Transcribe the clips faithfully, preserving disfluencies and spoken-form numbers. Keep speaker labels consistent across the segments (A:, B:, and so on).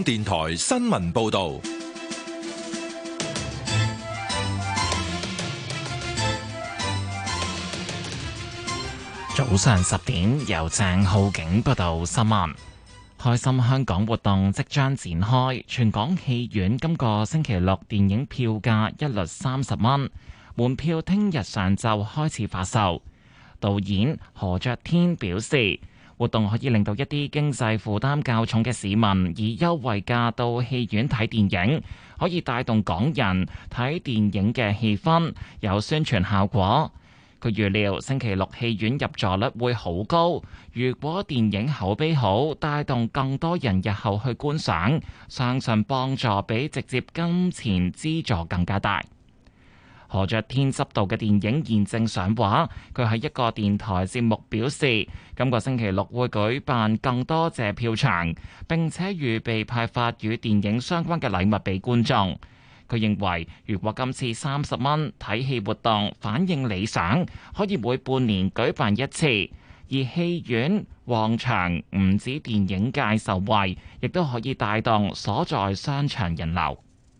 A: 電台新聞報道。
B: 早上十點，由鄭浩景報道新聞。開心香港活動即將展開，全港戲院今個星期六電影票價一律三十蚊，門票聽日上晝開始發售。導演何爵天表示，活動可以令到一啲經濟負擔較重嘅市民以優惠價到戲院睇電影，可以帶動港人睇電影嘅氣氛，有宣傳效果。佢預料星期六戲院入座率會好高，如果電影口碑好，帶動更多人日後去觀賞，相信幫助比直接金錢資助更加大。何爵天執導嘅電影現正上畫，佢喺一個電台節目表示，今個星期六會舉辦更多謝票場，並且預備派發與電影相關嘅禮物俾觀眾。佢認為，如果今次三十蚊睇戲活動反應理想，可以每半年舉辦一次，而戲院旺場唔止電影界受惠，亦都可以帶動所在商場人流。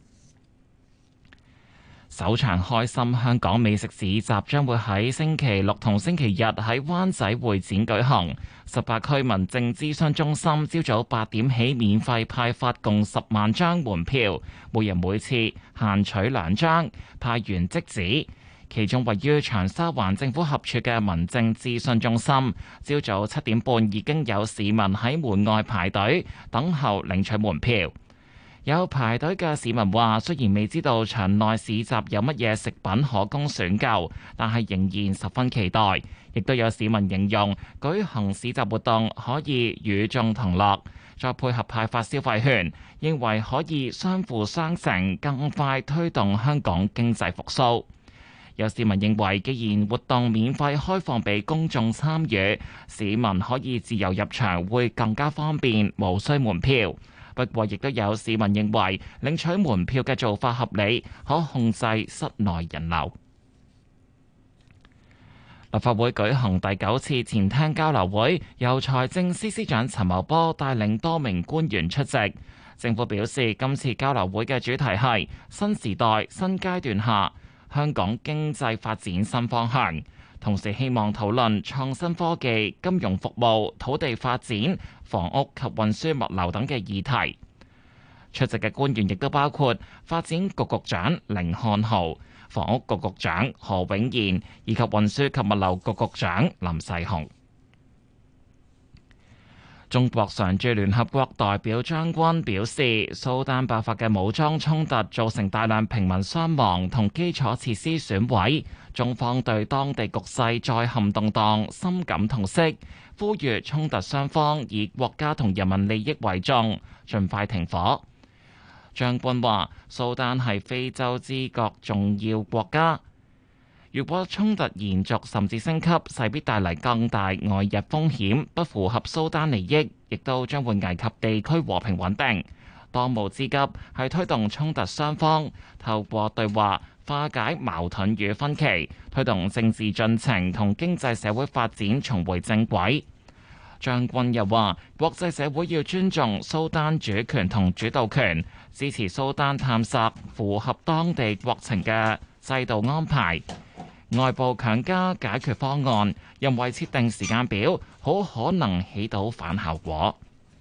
B: 首場開心香港美食市集將會喺星期六同星期日喺灣仔會展舉行。十八區民政諮詢中心朝早八點起免費派發共十萬張門票，每人每次限取兩張，派完即止。其中位於長沙灣政府合署嘅民政諮詢中心，朝早七點半已經有市民喺門外排隊等候領取門票。有排隊嘅市民話，雖然未知道場內市集有乜嘢食品可供選購，但係仍然十分期待。亦都有市民形容舉行市集活動可以與眾同樂，再配合派發消費券，認為可以相輔相成，更快推動香港經濟復甦。有市民認為，既然活動免費開放俾公眾參與，市民可以自由入場會更加方便，無需門票。不過，亦都有市民認為領取門票嘅做法合理，可控制室內人流。立法會舉行第九次前廳交流會，由財政司司長陳茂波帶領多名官員出席。政府表示，今次交流會嘅主題係新時代新階段下香港經濟發展新方向，同時希望討論創新科技、金融服務、土地發展、房屋及運輸物流等嘅議題。出席嘅官員亦都包括發展局局長甯漢豪、房屋局局長何永賢以及運輸及物流局局長林世雄。中國常駐聯合國代表張軍表示，蘇丹爆發嘅武裝衝突造成大量平民傷亡同基礎設施損毀，中方對當地局勢再陷動盪深感痛惜，呼籲衝突雙方以國家同人民利益為重，盡快停火。張軍話：蘇丹係非洲之角重要國家，如果衝突延續甚至升級，勢必帶嚟更大外溢風險，不符合蘇丹利益，亦都將會危及地區和平穩定。當務之急係推動衝突雙方透過對話化解矛盾與分歧，推動政治進程同經濟社會發展重回正軌。張軍又話：國際社會要尊重蘇丹主權同主導權，支持蘇丹探索符合當地國情嘅制度安排。外部強加解決方案，人為設定時間表，好可能起到反效果。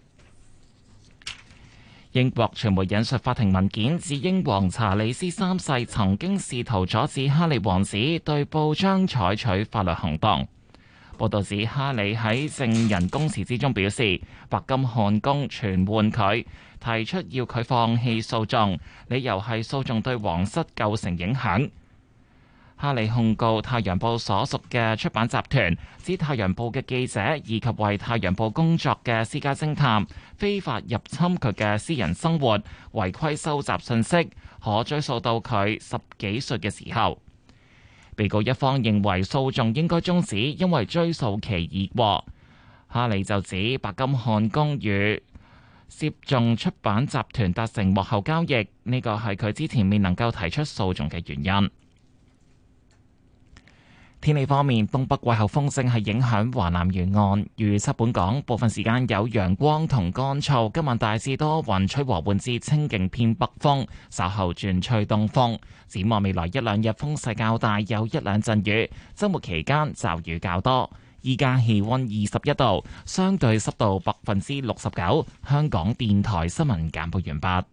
B: 英國傳媒引述法庭文件，指英皇查理斯三世曾經試圖阻止哈利王子對報章採取法律行動。報道指哈利喺證人供詞之中表示，白金漢宮傳喚佢，提出要佢放棄訴訟，理由係訴訟對皇室構成影響。哈利控告《太陽報》所屬嘅出版集團，指《太陽報》嘅記者以及為《太陽報》工作嘅私家偵探非法入侵佢嘅私人生活，違規收集信息，可追溯到佢十幾歲嘅時候。被告一方認為訴訟應該終止，因為追訴期已過。哈利就指白金漢宮與涉眾出版集團達成幕後交易，呢個係佢之前未能夠提出訴訟嘅原因。 天氣方面，東北季候風正係影響華南沿岸，預測本港部分時間有陽光同乾燥。今晚大致多雲，吹和緩至清勁偏北風，稍後轉吹東風。展望未來一兩日風勢較大，有一兩陣雨。週末期間驟雨較多。依家氣溫二十一度，相對濕度百分之六十九。香港電台新聞簡報完畢。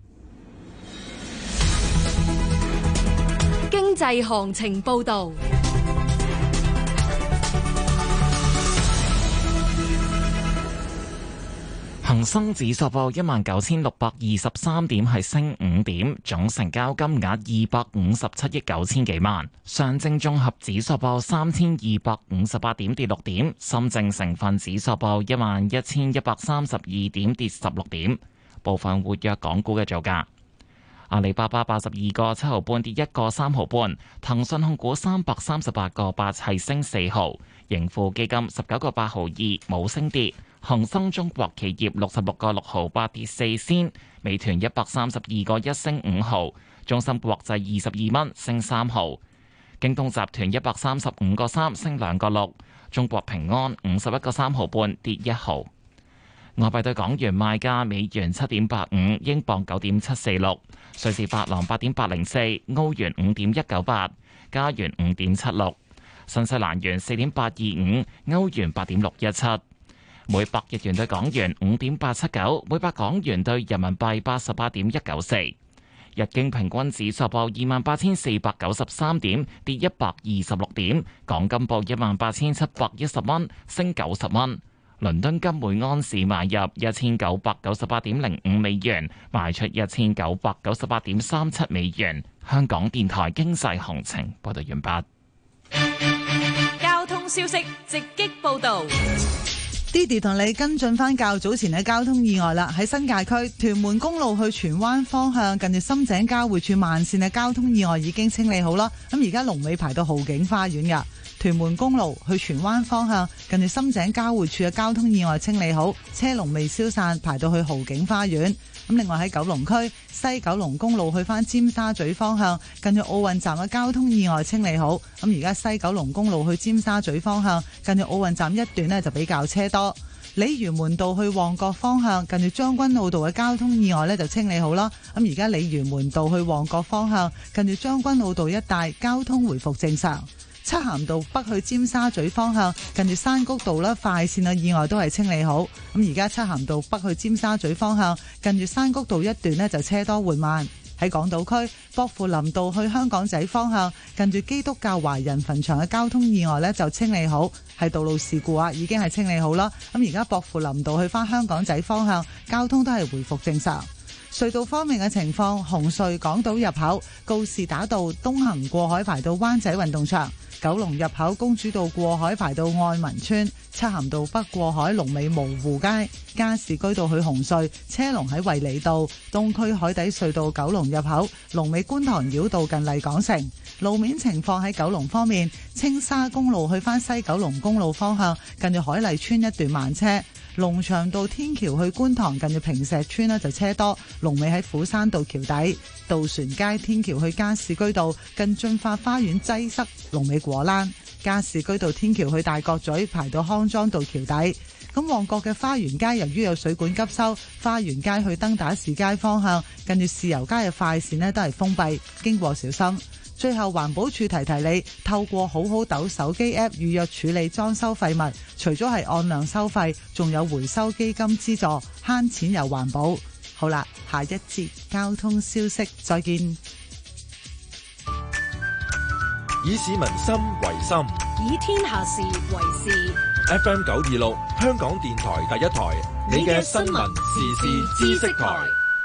C: 經濟行情報道。
B: 恒生指數報一萬九千六百二十三點，係升五點，總成交金額二百五十七億九千幾萬。上證綜合指數報三千二百五十八點，跌六點。深證成分指數報一萬一千一百三十二點，跌十六點。部分活躍港股嘅造價。阿里巴巴八十二個七毫半，跌一個三毫半。騰訊控股三百三十八個八，係升四毫。盈富基金十九個八毫二，冇升跌。恒生中國企業六十六個六毫八，跌四仙。美團一百三十二個一，升五毫。中芯國際二十二蚊，升三毫。京東集團一百三十五個三，升兩個六。中國平安五十一個三毫半，跌一毫。外幣對港元賣價：美元七點八五，英鎊九點七四六，瑞士法郎八點八零四，歐元五點一九八，加元五點七六，新西蘭元四點八二五，歐元八點六一七。每百日元對港元五點八七九，每百港元對人民幣八十八點一九四。日經平均指數報二萬八千四百九十三點，跌一百二十六點。港金報一萬八千七百一十蚊，升九十蚊。倫敦金每安士買入一千九百九十八點零五美元，賣出一千九百九十八點三七美元。香港電台經濟行情報道完畢。
C: 交通消息直擊報道。
D: Didi 同你跟進翻較早前嘅交通意外啦，喺新界區屯門公路去荃灣方向，近住深井交匯處慢線嘅交通意外已經清理好啦。咁而家龍尾排到豪景花園噶，屯門公路去荃灣方向，近住深井交匯處嘅交通意外清理好，車龍未消散，排到去豪景花園。咁另外喺九龍區西九龍公路去翻尖沙咀方向，近住奧運站嘅交通意外清理好。咁而家西九龍公路去尖沙咀方向，近住奧運站一段呢就比較車多。鯉魚門道去旺角方向，近住將軍澳道嘅交通意外呢就清理好啦。咁而家鯉魚門道去旺角方向，近住將軍澳道一帶交通回復正常。漆咸道北去尖沙咀方向，近住山谷道啦，快線嘅意外都係清理好。咁而家漆咸道北去尖沙咀方向，近住山谷道一段呢就車多緩慢。喺港島區薄扶林道去香港仔方向，近住基督教華人墳場嘅交通意外呢就清理好，係道路事故啊，已經係清理好啦。咁而家薄扶林道去返香港仔方向，交通都係回復正常。隧道方面嘅情況，紅隧港島入口告士打道東行過海排到灣仔運動場，九龍入口公主道過海排到愛民村，漆咸道北過海龍尾蕪湖街，加士居道去紅隧車龍喺衛理道，東區海底隧道九龍入口龍尾觀塘繞道近麗港城。路面情況喺九龍方面，青沙公路去返西九龍公路方向，近住海麗村一段慢車。龍翔道天橋去觀塘近住坪石村呢就車多，龍尾喺虎山道橋底。渡船街天橋去加士居道近駿發花園擠塞，龍尾果欄。加士居道天橋去大角咀排到康莊道橋底。咁旺角嘅花園街由於有水管急修，花園街去登打士街方向近住豉油街嘅快線呢都係封閉，經過小心。最後環保署提提你，透過好好斗手機 App 預約處理裝修廢物，除咗係按量收費，仲有回收基金資助，慳錢又環保。好啦，下一節交通消息，再見。
A: 以市民心為心，
C: 以天下事為事。
A: F M 九二六，香港電台第一台，你嘅新聞時事知識台。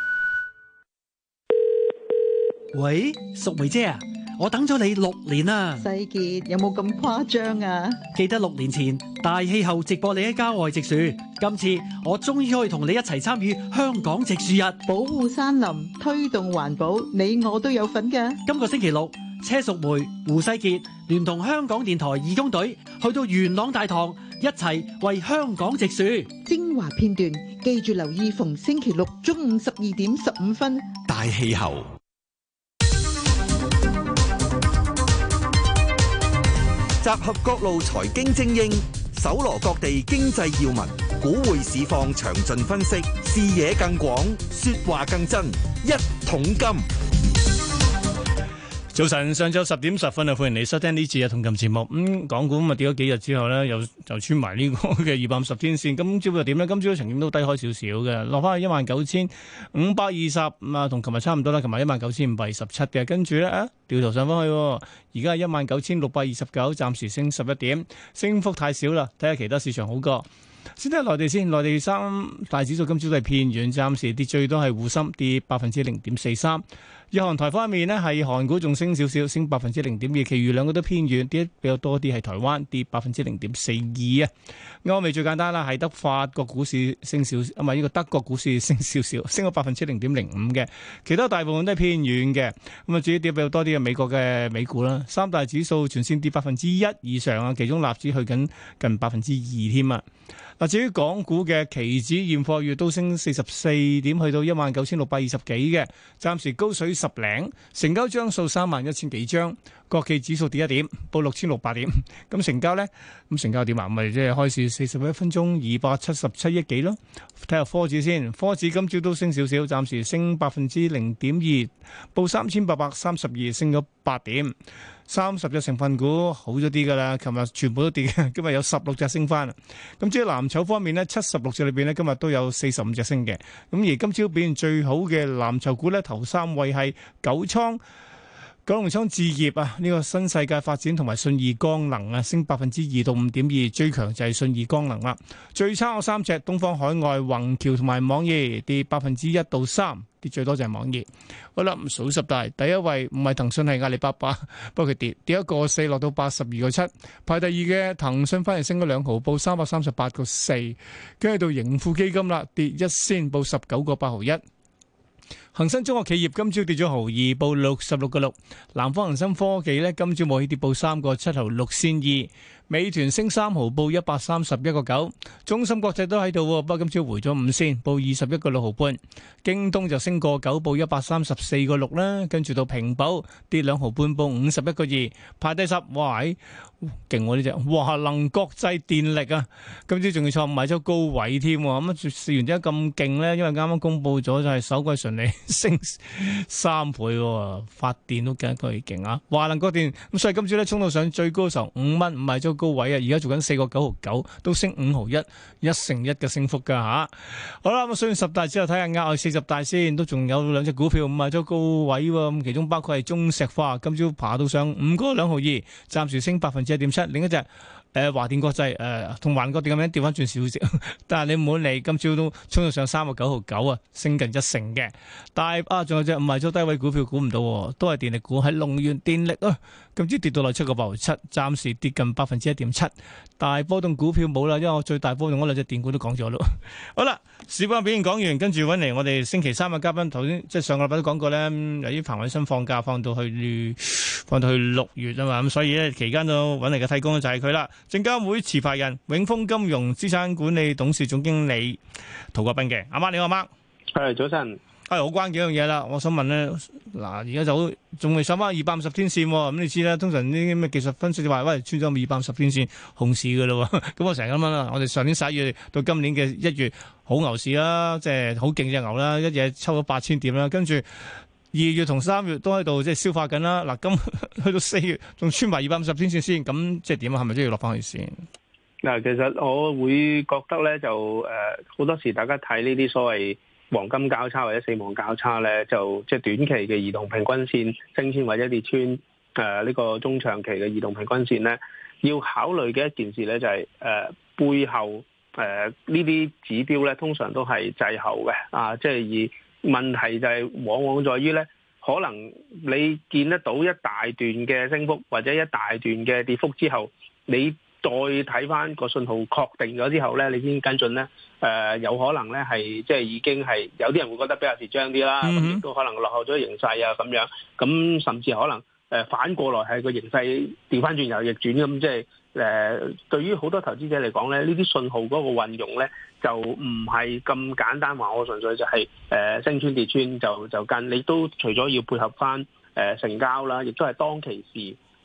E: 喂，淑梅姐啊，我等咗你六年啦。
F: 世傑有冇咁誇張啊？
E: 記得六年前大氣候直播你喺郊外植樹，今次我終於可以同你一齊參與香港植樹日，
F: 保護山林，推動環保，你我都有份㗎。
E: 今個星期六，車淑梅、胡世傑聯同香港電台義工隊去到元朗大棠，一齊為香港植樹。
F: 精華片段記住留意，逢星期六中午十二點十五分。
A: 大氣候。
G: 集合各路財經精英，搜羅各地經濟要聞，股匯市況詳盡分析，視野更廣，說話更真。一桶金。
H: 早晨，上晝十點十分啊，歡迎你收聽呢次嘅同金節目。咁、嗯、港股咁啊跌咗幾日之後呢，又就穿埋呢個嘅二百五十天線。今朝又點呢？今朝曾經都低開少少嘅，落翻去一萬九千五百二十啊，同琴日差唔多啦。琴日一萬九千五百二十七嘅，跟住呢，啊，掉頭上翻去，而家係一萬九千六百二十九，暫時升十一點，升幅太少啦。睇下其他市場好過。先睇下內地先，內地三大指數今朝都係偏軟，暫時跌最多係滬深跌百分之零點四三。日韓台方面呢，係韓股仲升少少，升百分之零點二，其餘兩個都偏軟，跌比較多啲係台灣跌百分之零點四二啊。歐美最簡單啦，係得法國股市升少，啊唔係呢個德國股市升少少，升咗百分之零點零五嘅，其他大部分都係偏軟嘅。咁啊，至於跌比較多啲嘅美國嘅美股啦，三大指數全線跌百分之一以上啊，其中納指去緊近百分之二添啊。嗱，至於港股嘅期指現貨月都升四十四點，去到一萬九千六百二十幾嘅，暫時高水十零，成交張數三萬一千幾張，國企指數跌一點，報六千六百點。咁成交呢？咁成交點啊？咪即係開市四十一分鐘二百七十七億幾咯。睇下科指先，科指今朝都升少少，暫時升百分之零點二，報三千八百三十二，升咗八點。三十隻成分股好咗啲㗎啦，琴日全部都跌，今日有十六隻升翻。咁至於藍籌方面呢，七十六隻裏邊呢，今日都有四十五隻升嘅。咁而今朝表現最好嘅藍籌股呢，頭三位係九倉、九龍倉置業啊，呢、這個新世界發展同埋信義光能啊，升百分之二到五點二，最強就係信義光能啦。最差嗰三隻，東方海外、宏橋同埋網易跌百分之一到三。跌最多就係網易。好啦，數十大，第一位唔係騰訊，係阿里巴巴，不過佢跌跌一個四，落到八十二個七。排第二嘅騰訊反而升咗兩毫，報三百三十八個四。跟住到盈富基金啦，跌一仙，報十九個八毫一。恒生中國企業今朝跌咗毫二，報六十六個六。南方恒生科技呢，今朝冇起跌，報三個七毫六仙二。美團升三毫，報一百三十一個九。中芯國際都喺度，不過今朝回咗五仙，報二十一個六毫半。京東就升個九，報一百三十四個六啦。跟住到平保跌兩毫半，報五十一個二。排第十，哇，勁喎呢隻華能國際電力啊！今朝仲要創買咗高位添，咁試完點解咁勁呢？因為啱啱公布咗就係首季純利升三倍，發電都更加勁啊！華能國電咁，所以今朝咧衝到上最高嘅時候五蚊，買咗高位啊！而家做緊四個九毫九，都升五毫一，一成一嘅升幅噶吓。好啦，咁數完十大之後睇下額外四十大先，都仲有兩隻股票買咗高位喎。咁其中包括係中石化，今朝爬到上五個兩毫二，暫時升百分之一點七。另一隻誒華電國際誒同華國電咁樣調翻轉少少，但係你唔好理，今朝都衝到上三個九毫九啊，升近一成嘅。但係啊，仲有隻唔係咗低位股票，估唔到都係電力股，喺龍源電力啊，今朝跌到落七個八毫七，暫時跌近百分之一點七。大波動股票冇啦，因為我最大波動嗰兩隻電股都講咗咯。好啦，市況表現講完，跟住揾嚟我哋星期三嘅嘉賓，頭先即係上個禮拜都講過咧，由於彭偉新放假放到去放到去六月啊嘛，咁所以咧期間都揾嚟嘅替工就係佢啦。證監會持牌人永豐金融資產管理董事總經理涂國彬嘅，阿媽你好，阿媽，
I: 係早晨，
H: 係好關幾樣嘢啦。我想問咧，嗱而家就仲未上翻二百五十天線，咁你知啦，通常呢啲咩技術分析就話喂穿咗二百五十天線熊市噶啦，咁我成日咁樣啦。我哋上年十一月到今年嘅一月好牛市啦，即係好勁隻牛啦，一嘢抽咗八千點啦，跟住二月同三月都喺度即係消化緊啦。嗱，今去到四月仲穿埋二百五十天線先，咁即係點啊？係咪都要落翻去先？
I: 嗱，其實我會覺得咧，就誒好多時大家睇呢啲所謂黃金交叉或者死亡交叉咧，就即係短期嘅移動平均線升穿或者跌穿誒呢個中長期嘅移動平均線咧，要考慮嘅一件事咧就係誒背後誒呢啲指標咧，通常都係滯後嘅啊，即係而。問題就係往往在於咧，可能你見得到一大段嘅升幅或者一大段嘅跌幅之後，你再睇翻個信號確定咗之後咧，你先跟進咧，誒、呃、有可能咧係即係已經係有啲人會覺得比較蝕張啲啦，咁亦、mm hmm. 都可能落後咗形勢啊咁樣，咁甚至可能誒、呃、反過來係個形勢調翻轉又逆轉咁，即係誒對於好多投資者嚟講咧，呢啲信號嗰個運用咧。就唔係咁簡單話，我純粹就係、是、誒、呃、升穿跌穿就就跟，你都除咗要配合翻誒、呃、成交啦，亦都係當其時誒、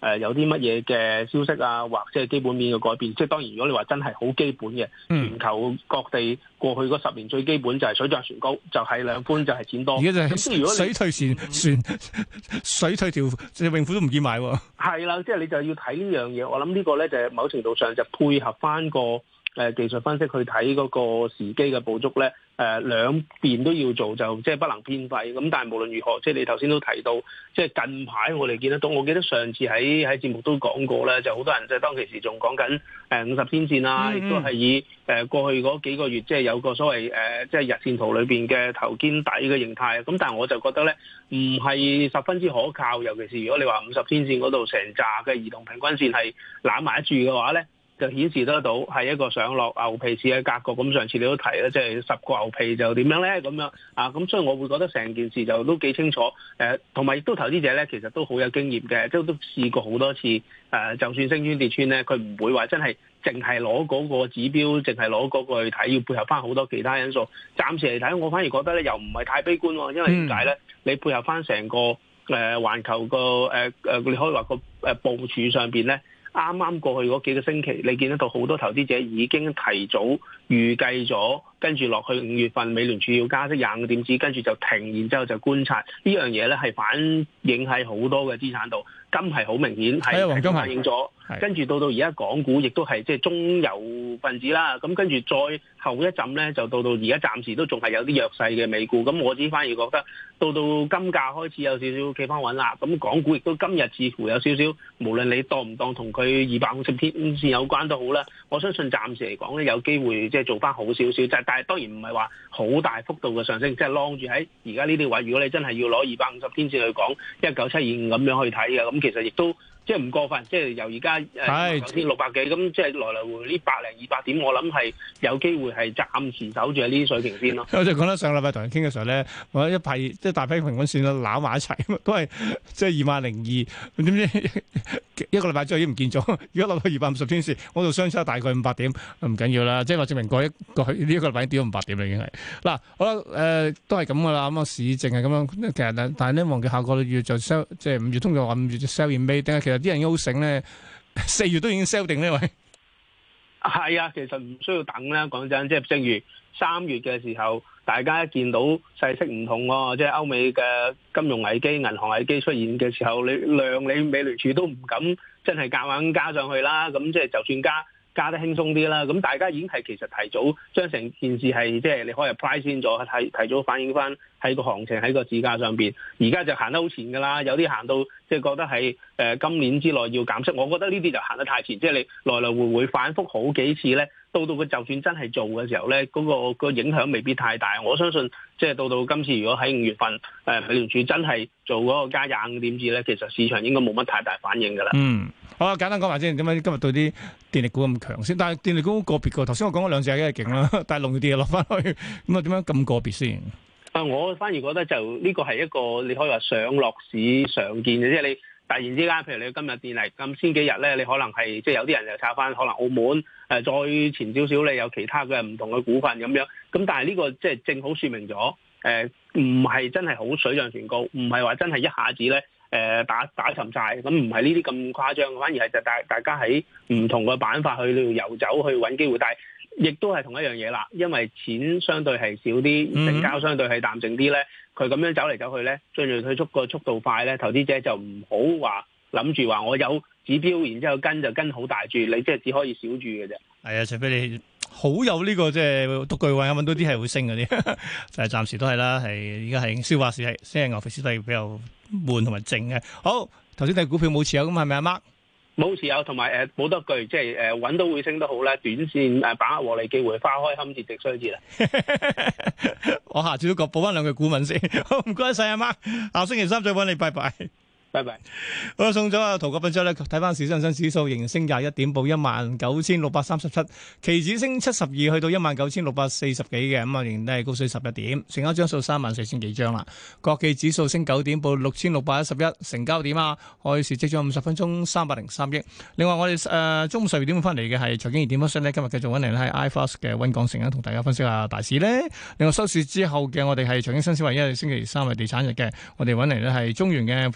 I: 誒有啲乜嘢嘅消息啊，或者係基本面嘅改變。即係當然，如果你話真係好基本嘅，全球各地過去嗰十年最基本就係水漲船高，就係量寬就係錢多。
H: 而家就係水退船船水退條泳褲都唔見買喎。係
I: 啦，即係你就要睇呢樣嘢。我諗呢個咧就係某程度上就配合翻個誒技術分析去睇嗰個時機嘅捕捉咧。誒、呃、兩邊都要做，就即係不能偏廢。咁但係無論如何，即係你頭先都提到，即係近排我哋見得到。我記得上次喺喺節目都講過咧，就好多人即係當其時仲講緊誒五十天線啦，亦、嗯嗯、都係以誒、呃、過去嗰幾個月即係有個所謂誒、呃、即係日線圖裏邊嘅頭肩底嘅形態。咁但係我就覺得咧，唔係十分之可靠。尤其是如果你話五十天線嗰度成紮嘅移動平均線係攬埋一住嘅話咧，就顯示得到係一個上落牛皮市嘅格局。咁上次你都提啦，即係十個牛皮就點樣咧？咁樣啊，咁所以我會覺得成件事就都幾清楚。誒、呃，同埋亦都投資者咧，其實都好有經驗嘅，即係都試過好多次。誒、呃，就算升穿跌穿咧，佢唔會話真係淨係攞嗰個指標，淨係攞嗰個去睇，要配合翻好多其他因素。暫時嚟睇，我反而覺得咧，又唔係太悲觀喎。因為點解咧？你配合翻成個誒環球個誒誒，你可以話個誒部署上邊咧。啱啱過去嗰幾個星期，你見得到好多投資者已經提早預計咗，跟住落去五月份美聯儲要加息廿五點子，跟住就停，然之後就觀察呢樣嘢咧，係反映喺好多嘅資產度。金係好明顯係黃金反映咗，跟住到到而家港股亦都係即係中游分子啦。咁跟住再後一陣咧，就到到而家暫時都仲係有啲弱勢嘅美股。咁我自己反而覺得到到金價開始有少少企翻穩啦。咁港股亦都今日似乎有少少，無論你當唔當同佢二百五十天線有關都好啦。我相信暫時嚟講咧，有機會即係做翻好少少。即係但係當然唔係話好大幅度嘅上升，即係晾住喺而家呢啲位。如果你真係要攞二百五十天線去講一九七二五咁樣去睇嘅，咁其實亦都即係唔過分，即係由而家誒九千六百幾，咁即係來來回呢百零二百點，我諗係有機會係暫時守住喺呢啲水平先咯。
H: 我就講得上個禮拜同人傾嘅時候咧，我一排即係大批平均線啦，攬埋一齊，都係即係二萬零二，點知一個禮拜之後已經唔見咗。如果落到二百五十天線，我度相差大概五百點，唔緊要啦。即係話證明過一個呢一個禮拜跌咗五百點啦，已經係嗱，好啦，誒、呃、都係咁噶啦。咁啊市淨係咁樣，其實但係咧忘記下個月就 sell，即係五月通常話五月就 sell in May，定係其實啲人好醒咧，四月都已經 sell 定呢位。
I: 係啊，其實唔需要等啦。講真，即係正如三月嘅時候，大家一見到勢色唔同喎，即係歐美嘅金融危機、銀行危機出現嘅時候，你量你美聯儲都唔敢真係夾硬加上去啦。咁即係就算加。加得輕鬆啲啦，咁大家已經係其實提早將成件事係即係你可以 price 先咗，提提早反映翻喺個行情喺個市價上邊。而家就行得好前㗎啦，有啲行到即係覺得係誒、呃、今年之內要減息，我覺得呢啲就行得太前，即係你來來回回反覆好幾次咧，到到佢就算真係做嘅時候咧，嗰、嗰個影響未必太大。我相信即係到到今次如果喺五月份誒、呃、美聯儲真係做嗰個加廿五點子咧，其實市場應該冇乜太大反應㗎啦。
H: 嗯。好啊，簡單講埋先，點解今日對啲電力股咁強先？但係電力股個別個，頭先我講嗰兩隻梗係勁啦，但係農業跌落翻去，咁啊點解咁個別先？
I: 啊，我反而覺得就呢個係一個你可以話上落市常見嘅，即係你突然之間，譬如你今日電力咁先幾日咧，你可能係即係有啲人就炒翻可能澳門，誒再前少少你有其他嘅唔同嘅股份咁樣，咁但係呢個即係正好説明咗，誒唔係真係好水漲船高，唔係話真係一下子咧。誒打打沉晒，咁唔係呢啲咁誇張，反而係就大大家喺唔同嘅板塊去遊走去揾機會，但係亦都係同一樣嘢啦，因為錢相對係少啲，成交相對係淡靜啲咧，佢咁樣走嚟走去咧，進入退出個速度快咧，投資者就唔好話諗住話我有指標，然之後跟就跟好大注，你即係只可以小注嘅啫。係啊，除非你好有呢、這個即係獨具慧眼揾到啲係會升嗰啲，就係暫時都係啦，係而家係消化市係先係牛皮市係比較悶同埋靜嘅。好，頭先睇股票冇持有咁係咪阿 Mark？冇持有，同埋誒冇得句，即係誒揾到會升得好咧，短線誒把握獲利機會，花開堪折直須折啦。我下次都講補翻兩句股文先。好，唔該晒阿 Mark，下星期三再揾你，拜拜。拜拜。好，送咗阿陶國斌之後咧，睇翻市恒生指數仍然升廿一點，報一萬九千六百三十七，期指升七十二，去到一萬九千六百四十幾嘅，咁啊仍然都係高水十一點，成交張數三萬四千幾張啦。國企指數升九點，報六千六百一十一，成交點啊，開市即咗五十分鐘三百零三億。另外我哋誒、呃、中午十二點翻嚟嘅係財經熱點分析咧，今日繼續揾嚟咧係 iFast 嘅溫港城啊，同大家分析下大市咧。另外收市之後嘅我哋係財經新思維，因為星期三係地產日嘅，我哋揾嚟咧係中原嘅。呃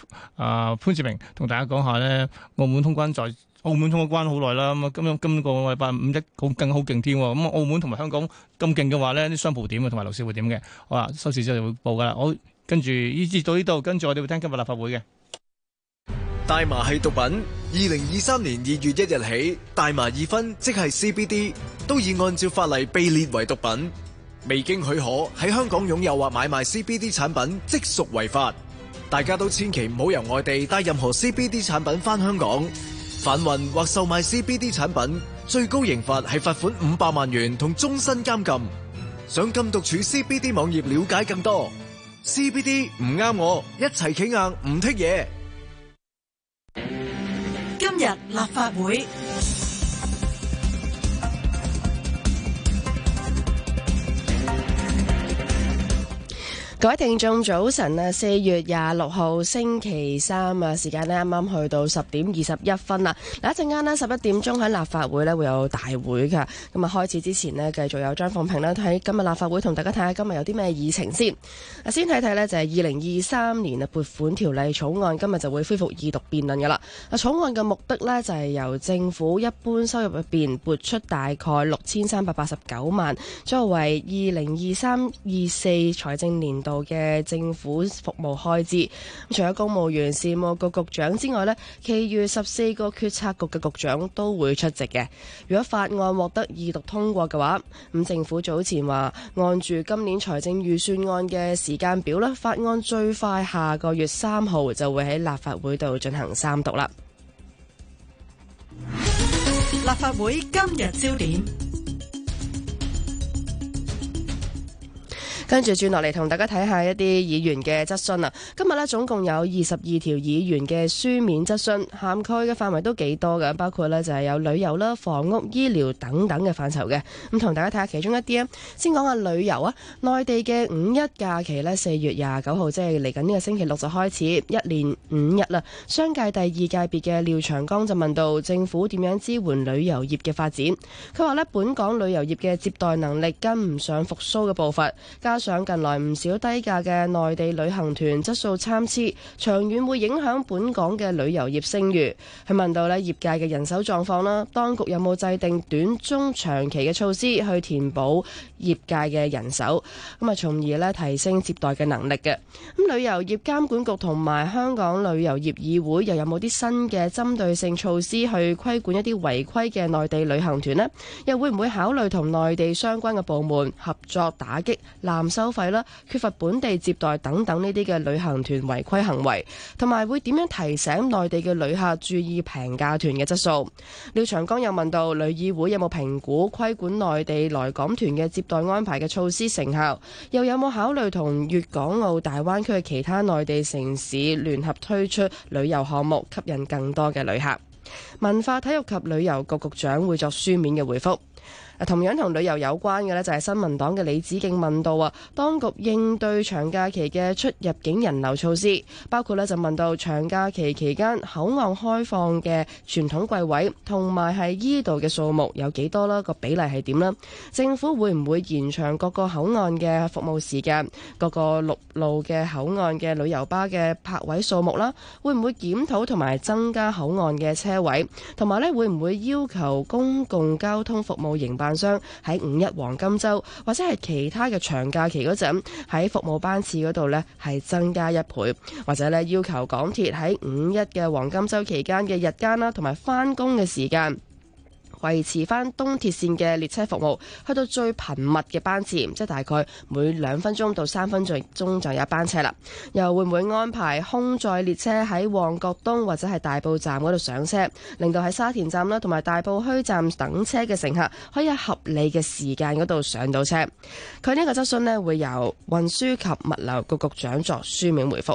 H: 啊潘志明同大家講下呢，澳門通關在。澳門通咗關好耐啦，咁啊今今個禮拜五一好更好勁添喎，咁澳門同埋香港咁勁嘅話呢，啲商鋪點啊，同埋樓市會點嘅？好啦，收市之後就會報噶啦。好，跟住依節到呢度，跟住我哋會聽今日立法會嘅。
J: 大麻係毒品，二零二三年二月一日起，大麻二酚即係 C B D 都已按照法例被列為毒品，未經許可喺香港擁有或買賣 C B D 產品即屬違法。大家都千祈唔好由外地帶任何 C B D 產品返香港。販運或售賣 C B D 產品，最高刑罰係罰款五百萬元同終身監禁。上禁毒處 C B D 網頁了解更多。C B D 唔啱我，一齊企硬唔剔嘢。
C: 今日立法會。
K: 各位聽眾早晨啊，四月廿六號星期三啊，時間呢啱啱去到十點二十一分啦。嗱，一陣間呢十一點鐘喺立法會呢會有大會噶。咁啊，開始之前呢，繼續有張鳳平呢喺今日立法會同大家睇下今日有啲咩議程先。啊，先睇睇呢就係二零二三年啊撥款條例草案今日就會恢復二讀辯論噶啦。啊，草案嘅目的呢就係由政府一般收入入邊撥出大概六千三百八十九萬，作為二零二三二四財政年度嘅政府服務開支。除咗公務員事務局局長之外呢，其餘十四個決策局嘅局長都會出席嘅。如果法案獲得二讀通過嘅話，咁政府早前話按住今年財政預算案嘅時間表呢，法案最快下個月三號就會喺立法會度進行三讀啦。
C: 立法會今日焦點。
K: 跟住轉落嚟同大家睇下一啲議員嘅質詢啊！今日呢，總共有二十二條議員嘅書面質詢，涵蓋嘅範圍都幾多嘅，包括呢就係有旅遊啦、房屋、醫療等等嘅範疇嘅。咁同大家睇下其中一啲啊，先講下旅遊啊。內地嘅五一假期呢，四月廿九號即係嚟緊呢個星期六就開始，一連五日啦。商界第二界別嘅廖長江就問到政府點樣支援旅遊業嘅發展。佢話呢，本港旅遊業嘅接待能力跟唔上復甦嘅步伐，加上近來唔少低價嘅內地旅行團質素參差，長遠會影響本港嘅旅遊業聲譽。佢問到呢業界嘅人手狀況啦，當局有冇制定短中長期嘅措施去填補業界嘅人手，咁啊從而呢提升接待嘅能力嘅。咁旅遊業監管局同埋香港旅遊業議會又有冇啲新嘅針對性措施去規管一啲違規嘅內地旅行團呢？又會唔會考慮同內地相關嘅部門合作打擊濫收費啦、缺乏本地接待等等呢啲嘅旅行團違規行為，同埋會點樣提醒內地嘅旅客注意平價團嘅質素？廖長江又問到旅議會有冇評估規管內地來港團嘅接待安排嘅措施成效，又有冇考慮同粵港澳大灣區嘅其他內地城市聯合推出旅遊項目，吸引更多嘅旅客？文化體育及旅遊局局長會作書面嘅回覆。同樣同旅遊有關嘅呢，就係新民黨嘅李梓敬問到啊，當局應對長假期嘅出入境人流措施，包括呢就問到長假期期間口岸開放嘅傳統櫃位同埋係依度嘅數目有幾多啦，個比例係點啦？政府會唔會延長各個口岸嘅服務時間？各個陸路嘅口岸嘅旅遊巴嘅泊位數目啦？會唔會檢討同埋增加口岸嘅車位？同埋呢會唔會要求公共交通服務營辦商喺五一黃金週或者係其他嘅長假期嗰陣喺服務班次嗰度呢係增加一倍，或者呢要求港鐵喺五一嘅黃金週期間嘅日間啦同埋返工嘅時間維持翻東鐵線嘅列車服務，去到最頻密嘅班次，即係大概每兩分鐘到三分鐘就有一班車啦。又會唔會安排空載列車喺旺角東或者係大埔站嗰度上車，令到喺沙田站啦同埋大埔墟站等車嘅乘客可以喺合理嘅時間嗰度上到車？佢呢個質詢呢會由運輸及物流局局長作書面回覆。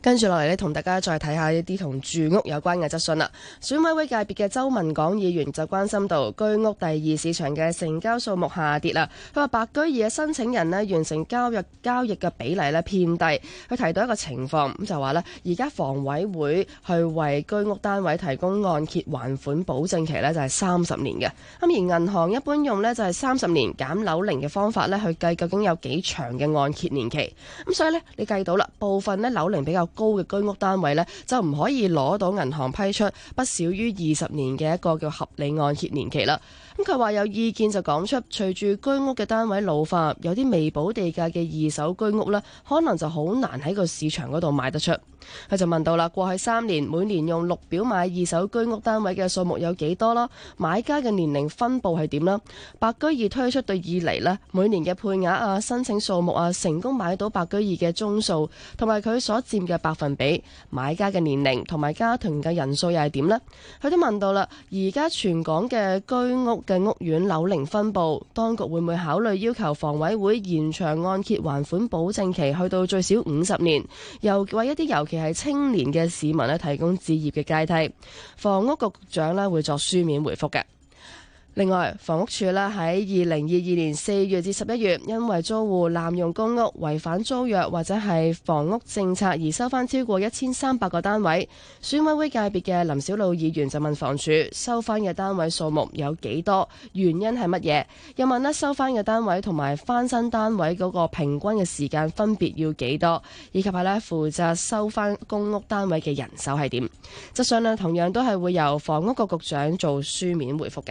K: 跟住落嚟呢，同大家再睇下一啲同住屋有關嘅質詢啦。選委會界別嘅周文港議員就關心到居屋第二市場嘅成交數目下跌啦。佢話白居二嘅申請人呢，完成交易交易嘅比例呢偏低。佢提到一個情況，咁就話呢，而家房委會去為居屋單位提供按揭還款保證期呢，就係三十年嘅。咁而銀行一般用呢，就係三十年減樓齡嘅方法呢，去計究竟有幾長嘅按揭年期。咁所以呢，你計到啦，部分呢樓齡比較高嘅居屋單位呢，就唔可以攞到銀行批出不少於二十年嘅一個叫合理按揭年期啦。咁佢話有意見就講出，隨住居屋嘅單位老化，有啲未補地價嘅二手居屋呢，可能就好難喺個市場嗰度賣得出。佢就問到啦，過去三年每年用綠表買二手居屋單位嘅數目有幾多啦？買家嘅年齡分佈係點啦？白居二推出對以嚟呢，每年嘅配額啊、申請數目啊、成功買到白居二嘅宗數，同埋佢所佔嘅百分比、買家嘅年齡同埋家庭嘅人數又係點呢？佢都問到啦，而家全港嘅居屋嘅屋苑樓齡分佈，當局會唔會考慮要求房委會延長按揭還款保證期去到最少五十年，又為一啲尤其係青年嘅市民咧提供置業嘅階梯？房屋局局長咧會作書面回覆嘅。另外，房屋署咧喺二零二二年四月至十一月，因為租戶濫用公屋、違反租約或者係房屋政策而收翻超過一千三百個單位。選委會界別嘅林筱魯議員就問房署收翻嘅單位數目有幾多，原因係乜嘢？又問咧收翻嘅單位同埋翻新單位嗰個平均嘅時間分別要幾多，以及係咧負責收翻公屋單位嘅人手係點？質詢咧同樣都係會由房屋局局長做書面回覆嘅。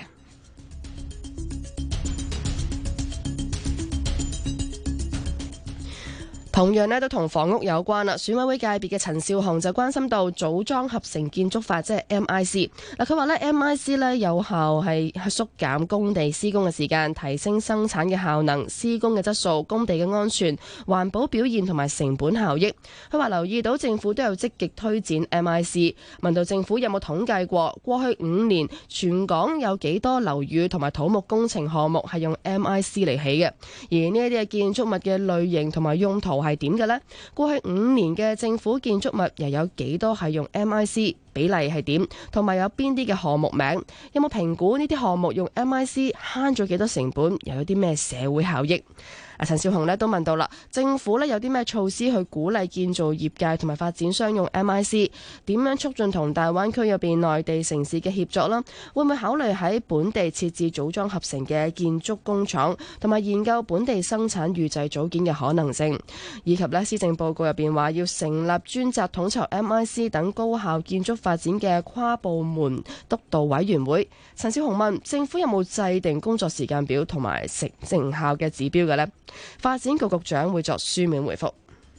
K: 同樣咧都同房屋有關啦。選委會界別嘅陳紹雄就關心到組裝合成建築法，即係 M I C。嗱，佢話咧 M I C 咧有效係縮減工地施工嘅時間，提升生產嘅效能、施工嘅質素、工地嘅安全、環保表現同埋成本效益。佢話留意到政府都有積極推展 M I C， 問到政府有冇統計過過去五年全港有幾多樓宇同埋土木工程項目係用 M I C 嚟起嘅，而呢一啲嘅建築物嘅類型同埋用途係點嘅呢？過去五年嘅政府建築物又有幾多係用 M I C？ 比例係點？同埋有邊啲嘅項目名？有冇評估呢啲項目用 M I C 慳咗幾多成本？又有啲咩社會效益？啊，陳紹雄咧都問到啦，政府咧有啲咩措施去鼓勵建造業界同埋發展商用 M I C？ 點樣促進同大灣區入邊內地城市嘅協作啦？會唔會考慮喺本地設置組裝合成嘅建築工廠，同埋研究本地生產預製組件嘅可能性？以及咧施政報告入邊話要成立專責統籌 M I C 等高效建築發展嘅跨部門督導委員會。陳紹雄問政府有冇制定工作時間表同埋成成效嘅指標嘅呢？發展局局長會作書面回覆。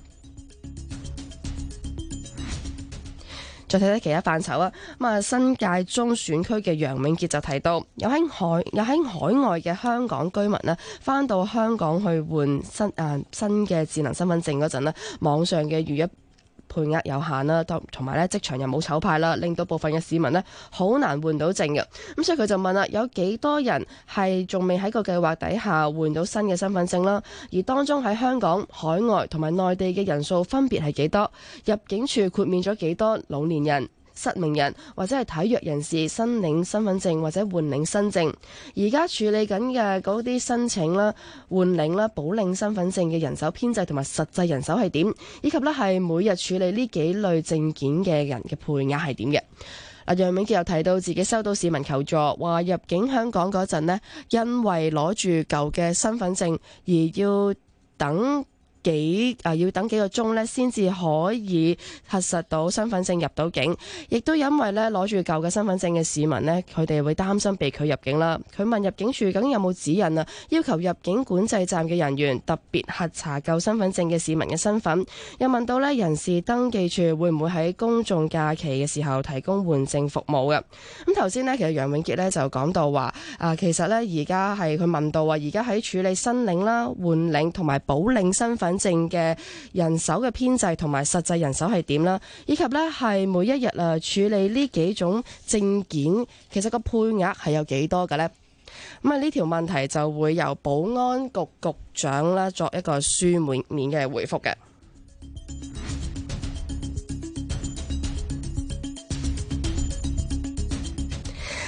K: 再睇睇其他範疇啊，咁啊新界中選區嘅楊永傑就提到，有喺海有喺海外嘅香港居民呢，返到香港去換新啊新嘅智能身份證嗰陣呢，網上嘅預約配額有限啦，同埋咧職場又冇籌派啦，令到部分嘅市民呢好難換到證嘅。咁所以佢就問啦，有幾多人係仲未喺個計劃底下換到新嘅身份證啦？而當中喺香港、海外同埋內地嘅人數分別係幾多？入境處豁免咗幾多老年人、失明人或者係體弱人士申領身份證或者換領新證？而家處理緊嘅嗰啲申請啦、換領啦、補領身份證嘅人手編制同埋實際人手係點？以及咧係每日處理呢幾類證件嘅人嘅配額係點嘅？嗱，楊永傑又提到自己收到市民求助，話入境香港嗰陣呢，因為攞住舊嘅身份證而要等幾啊要等幾個鐘咧，先至可以核實到身份證入到境。亦都因為咧攞住舊嘅身份證嘅市民呢，佢哋會擔心被拒入境啦。佢問入境處究竟有冇指引啊，要求入境管制站嘅人員特別核查舊身份證嘅市民嘅身份。又問到咧人事登記處會唔會喺公眾假期嘅時候提供換證服務嘅？咁頭先呢，其實楊永傑咧就講到話啊，其實咧而家係佢問到話，而家喺處理申領啦、換領同埋補領身份證嘅人手嘅編制同埋實際人手係點啦，以及呢係每一日啊處理呢幾種證件，其實個配額係有幾多嘅呢？咁啊呢條問題就會由保安局局長啦作一個書面面嘅回覆嘅。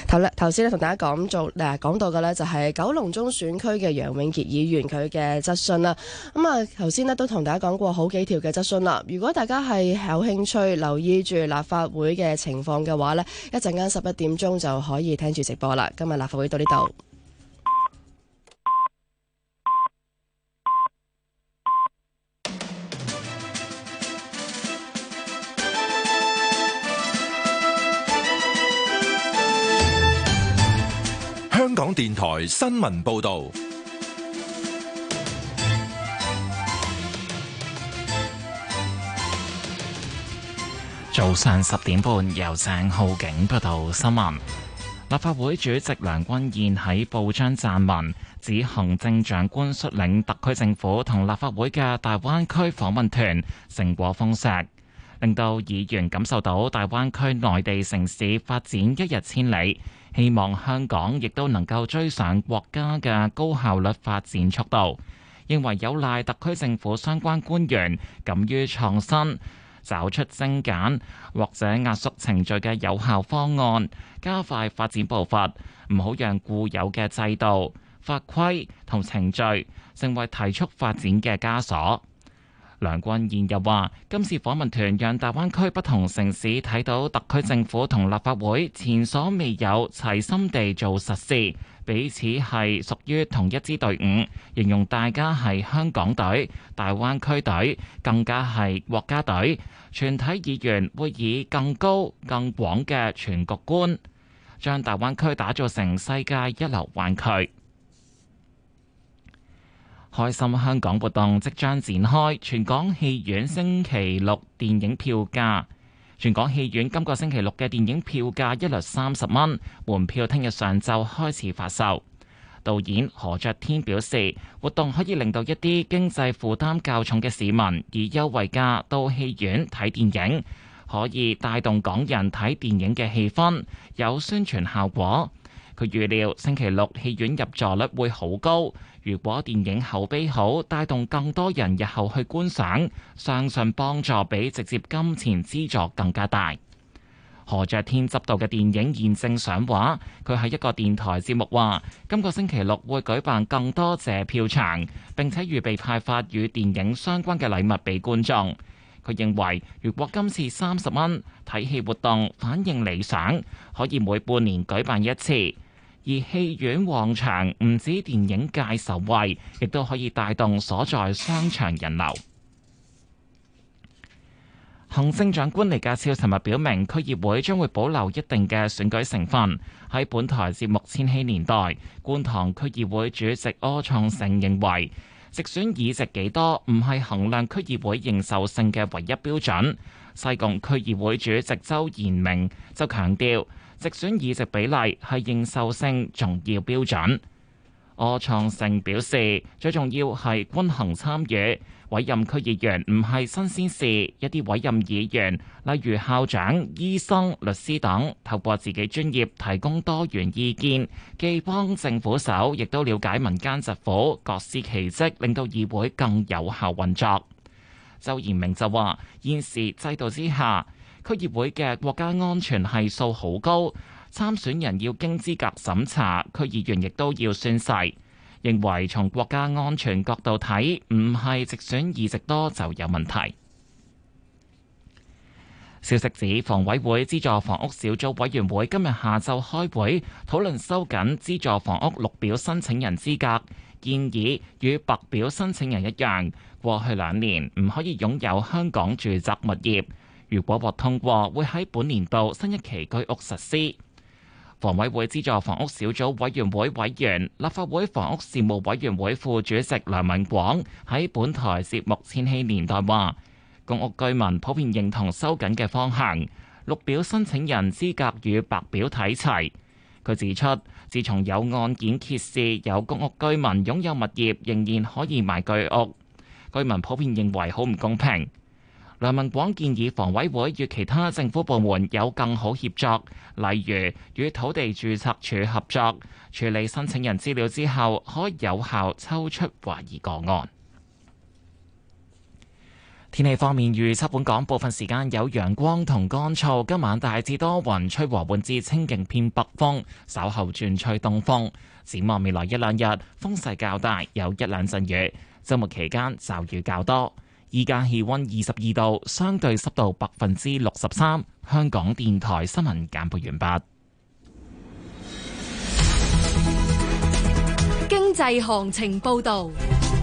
K: 頭咧頭先咧同大家講做誒講到嘅咧就係九龍中選區嘅楊永傑議員佢嘅質詢啦。咁啊頭先咧都同大家講過好幾條嘅質詢啦。如果大家係有興趣留意住立法會嘅情況嘅話咧，一陣間十一點鐘就可以聽住直播啦。今日立法會到呢度。
A: 香港電台新聞報道，
B: 早上十點半由鄭浩景報道新聞。立法會主席梁君彥喺報章撰文，指行政長官率領特區政府同立法會嘅大灣區訪問團成果豐碩，令到議員感受到大灣區內地城市發展一日千里。希望香港亦都能夠追上國家嘅高效率發展速度，認為有賴特區政府相關官員敢於創新，找出精簡或者壓縮程序嘅有效方案，加快發展步伐，唔好讓固有嘅制度、法規同程序成為提速發展嘅枷鎖。梁君彥又話：今次訪問團讓大灣區不同城市睇到特區政府同立法會前所未有齊心地做實事，彼此係屬於同一支隊伍，形容大家係香港隊、大灣區隊，更加係國家隊。全體議員會以更高、更廣嘅全局觀，將大灣區打造成世界一流灣區。開心香港活動即將展開，全港戲院星期六電影票價，全港戲院今個星期六嘅電影票價一律三十蚊，門票聽日上晝開始發售。導演何爵天表示，活動可以令到一啲經濟負擔較重嘅市民以優惠價到戲院睇電影，可以帶動港人睇電影嘅氣氛，有宣傳效果。佢預料星期六戲院入座率會好高，如果電影口碑好，帶動更多人日後去觀賞，相信幫助比直接金錢資助更加大。何爵天執導嘅電影現正上畫，佢喺一個電台節目話，今個星期六會舉辦更多謝票場，並且預備派發與電影相關嘅禮物俾觀眾。佢認為，如果今次三十蚊睇戲活動反應理想，可以每半年舉辦一次。而戲院旺場唔止電影界受惠，亦都可以帶動所在商場人流。行政長官李家超尋日表明，區議會將會保留一定嘅選舉成分。喺本台節目《千禧年代》，觀塘區議會主席柯創盛認為，直選議席幾多唔係衡量區議會認受性嘅唯一標準。西貢區議會主席周延明就強調，直選議席比例係認受性重要標準。柯創盛表示，最重要係均衡參與，委任區議員唔係新鮮事。一啲委任議員，例如校長、醫生、律師等，透過自己專業提供多元意見，既幫政府手，亦都了解民間疾苦，各司其職，令到議會更有效運作。周延明就話，現時制度之下，區議會嘅國家安全係數好高，參選人要經資格審查，區議員亦都要宣誓。認為從國家安全角度睇，唔係直選議席多就有問題。消息指，房委會資助房屋小組委員會今日下晝開會討論收緊資助房屋綠表申請人資格，建議與白表申請人一樣，過去兩年唔可以擁有香港住宅物業。如果獲通過，會喺本年度新一期居屋實施。房委會資助房屋小組委員會委員、立法會房屋事務委員會副主席梁文廣喺本台節目《千禧年代》話，公屋居民普遍認同收緊嘅方向，綠表申請人資格與白表睇齊。佢指出，自從有案件揭示有公屋居民擁有物業仍然可以賣居屋，居民普遍認為好唔公平。梁文廣建議房委會與其他政府部門有更好協作，例如與土地註冊處合作，處理申請人資料之後，可有效抽出懷疑個案。 天氣方面，預測本港部分時間有陽光同乾燥，今晚大致多雲，吹和緩至清勁偏北風，稍後轉吹東風。展望未來一兩日，風勢較大，有一兩陣雨。週末期間驟雨較多。依家氣溫二十二度，相對濕度百分之六十三。香港電台新聞簡報完畢。
L: 經濟行情報道。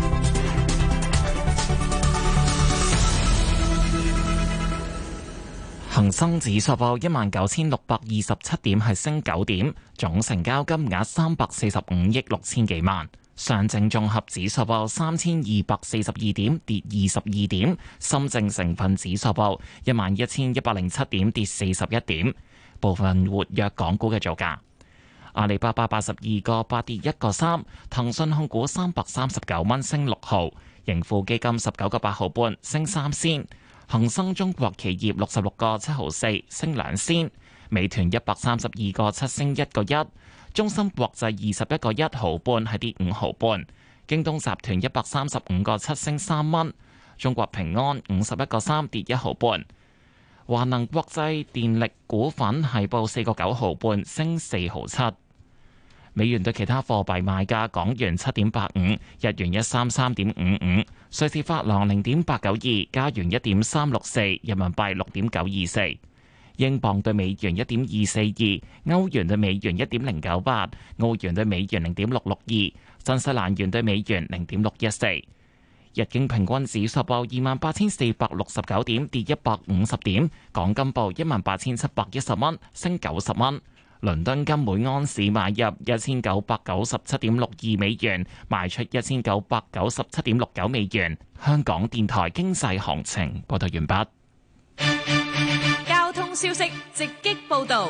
B: 恒生指數報一萬九千六百二十七點，係升九點，總成交金額三百四十五億六千幾萬。上證綜合指數報三千二百四十二點，跌二十二點。深證成分指數報一萬一千一百零七點，跌四十一點。部分活躍港股嘅造價：阿里巴巴八十二個八跌一個三，騰訊控股三百三十九蚊升六毫，盈富基金十九個八毫半升三仙。恒生中國企業六十六個七毫四升兩仙，美團一百三十二個七升一個一，中芯國際二十一個一毫半係跌五毫半，京東集團一百三十五個七升三蚊，中國平安五十一個三跌一毫半，華能國際電力股份係報四個九毫半升四毫七。美元對其他貨幣賣價：港元七點八五，日元一三三點五五，瑞士法郎零點八九二，加元一點三六四，人民幣六點九二四，英鎊對美元一點二四二，歐元對美元一點零九八，澳元對美元零點六六二，新西蘭元對美元零點六一四。日經平均指數報二萬八千四百六十九點，跌一百五十點。港金報一萬八千七百一十蚊，升九十蚊。倫敦金每安士買入一千九百九十七點六二美元，賣出一千九百九十七點六九美元。香港電台經濟行情報道完畢。
L: 交通消息直擊報道。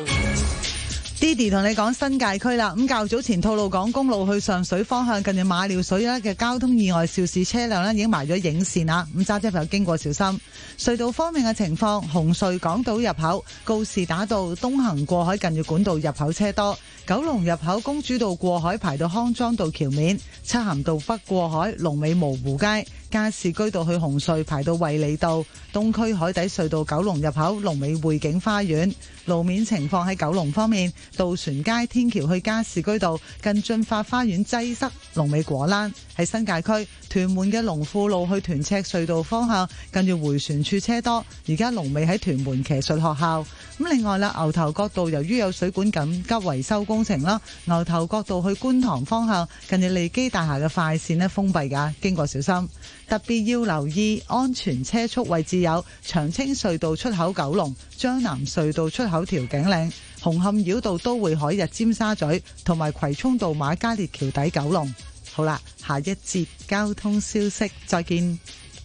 D: Didi 同你講新界區啦，咁較早前吐露港公路去上水方向近住馬料水咧嘅交通意外肇事車輛咧已經埋咗影線啦，咁揸車朋友經過小心。隧道方面嘅情況，紅隧港島入口告士打道東行過海近住管道入口車多，九龍入口公主道過海排到康莊道橋面，漆咸道北過海龍尾蕪湖街，加士居道去紅隧排到衛理道，東區海底隧道九龍入口龍尾匯景花園。路面情況喺九龍方面，渡船街天橋去加士居道近駿發花園擠塞，龍尾果欄。喺新界區屯門嘅龍富路去屯赤隧道方向近住迴旋處車多，而家龍尾喺屯門騎術學校。咁另外啦，牛頭角道由於有水管緊急維修工程啦，牛頭角道去觀塘方向近住利基大廈嘅快線呢封閉㗎，經過小心。特別要留意安全車速位置有長青隧道出口九龍、將南隧道出口調景嶺、紅磡繞道都會海日尖沙咀同埋葵涌道瑪嘉烈橋底九龍。好啦，下一節交通消息再見。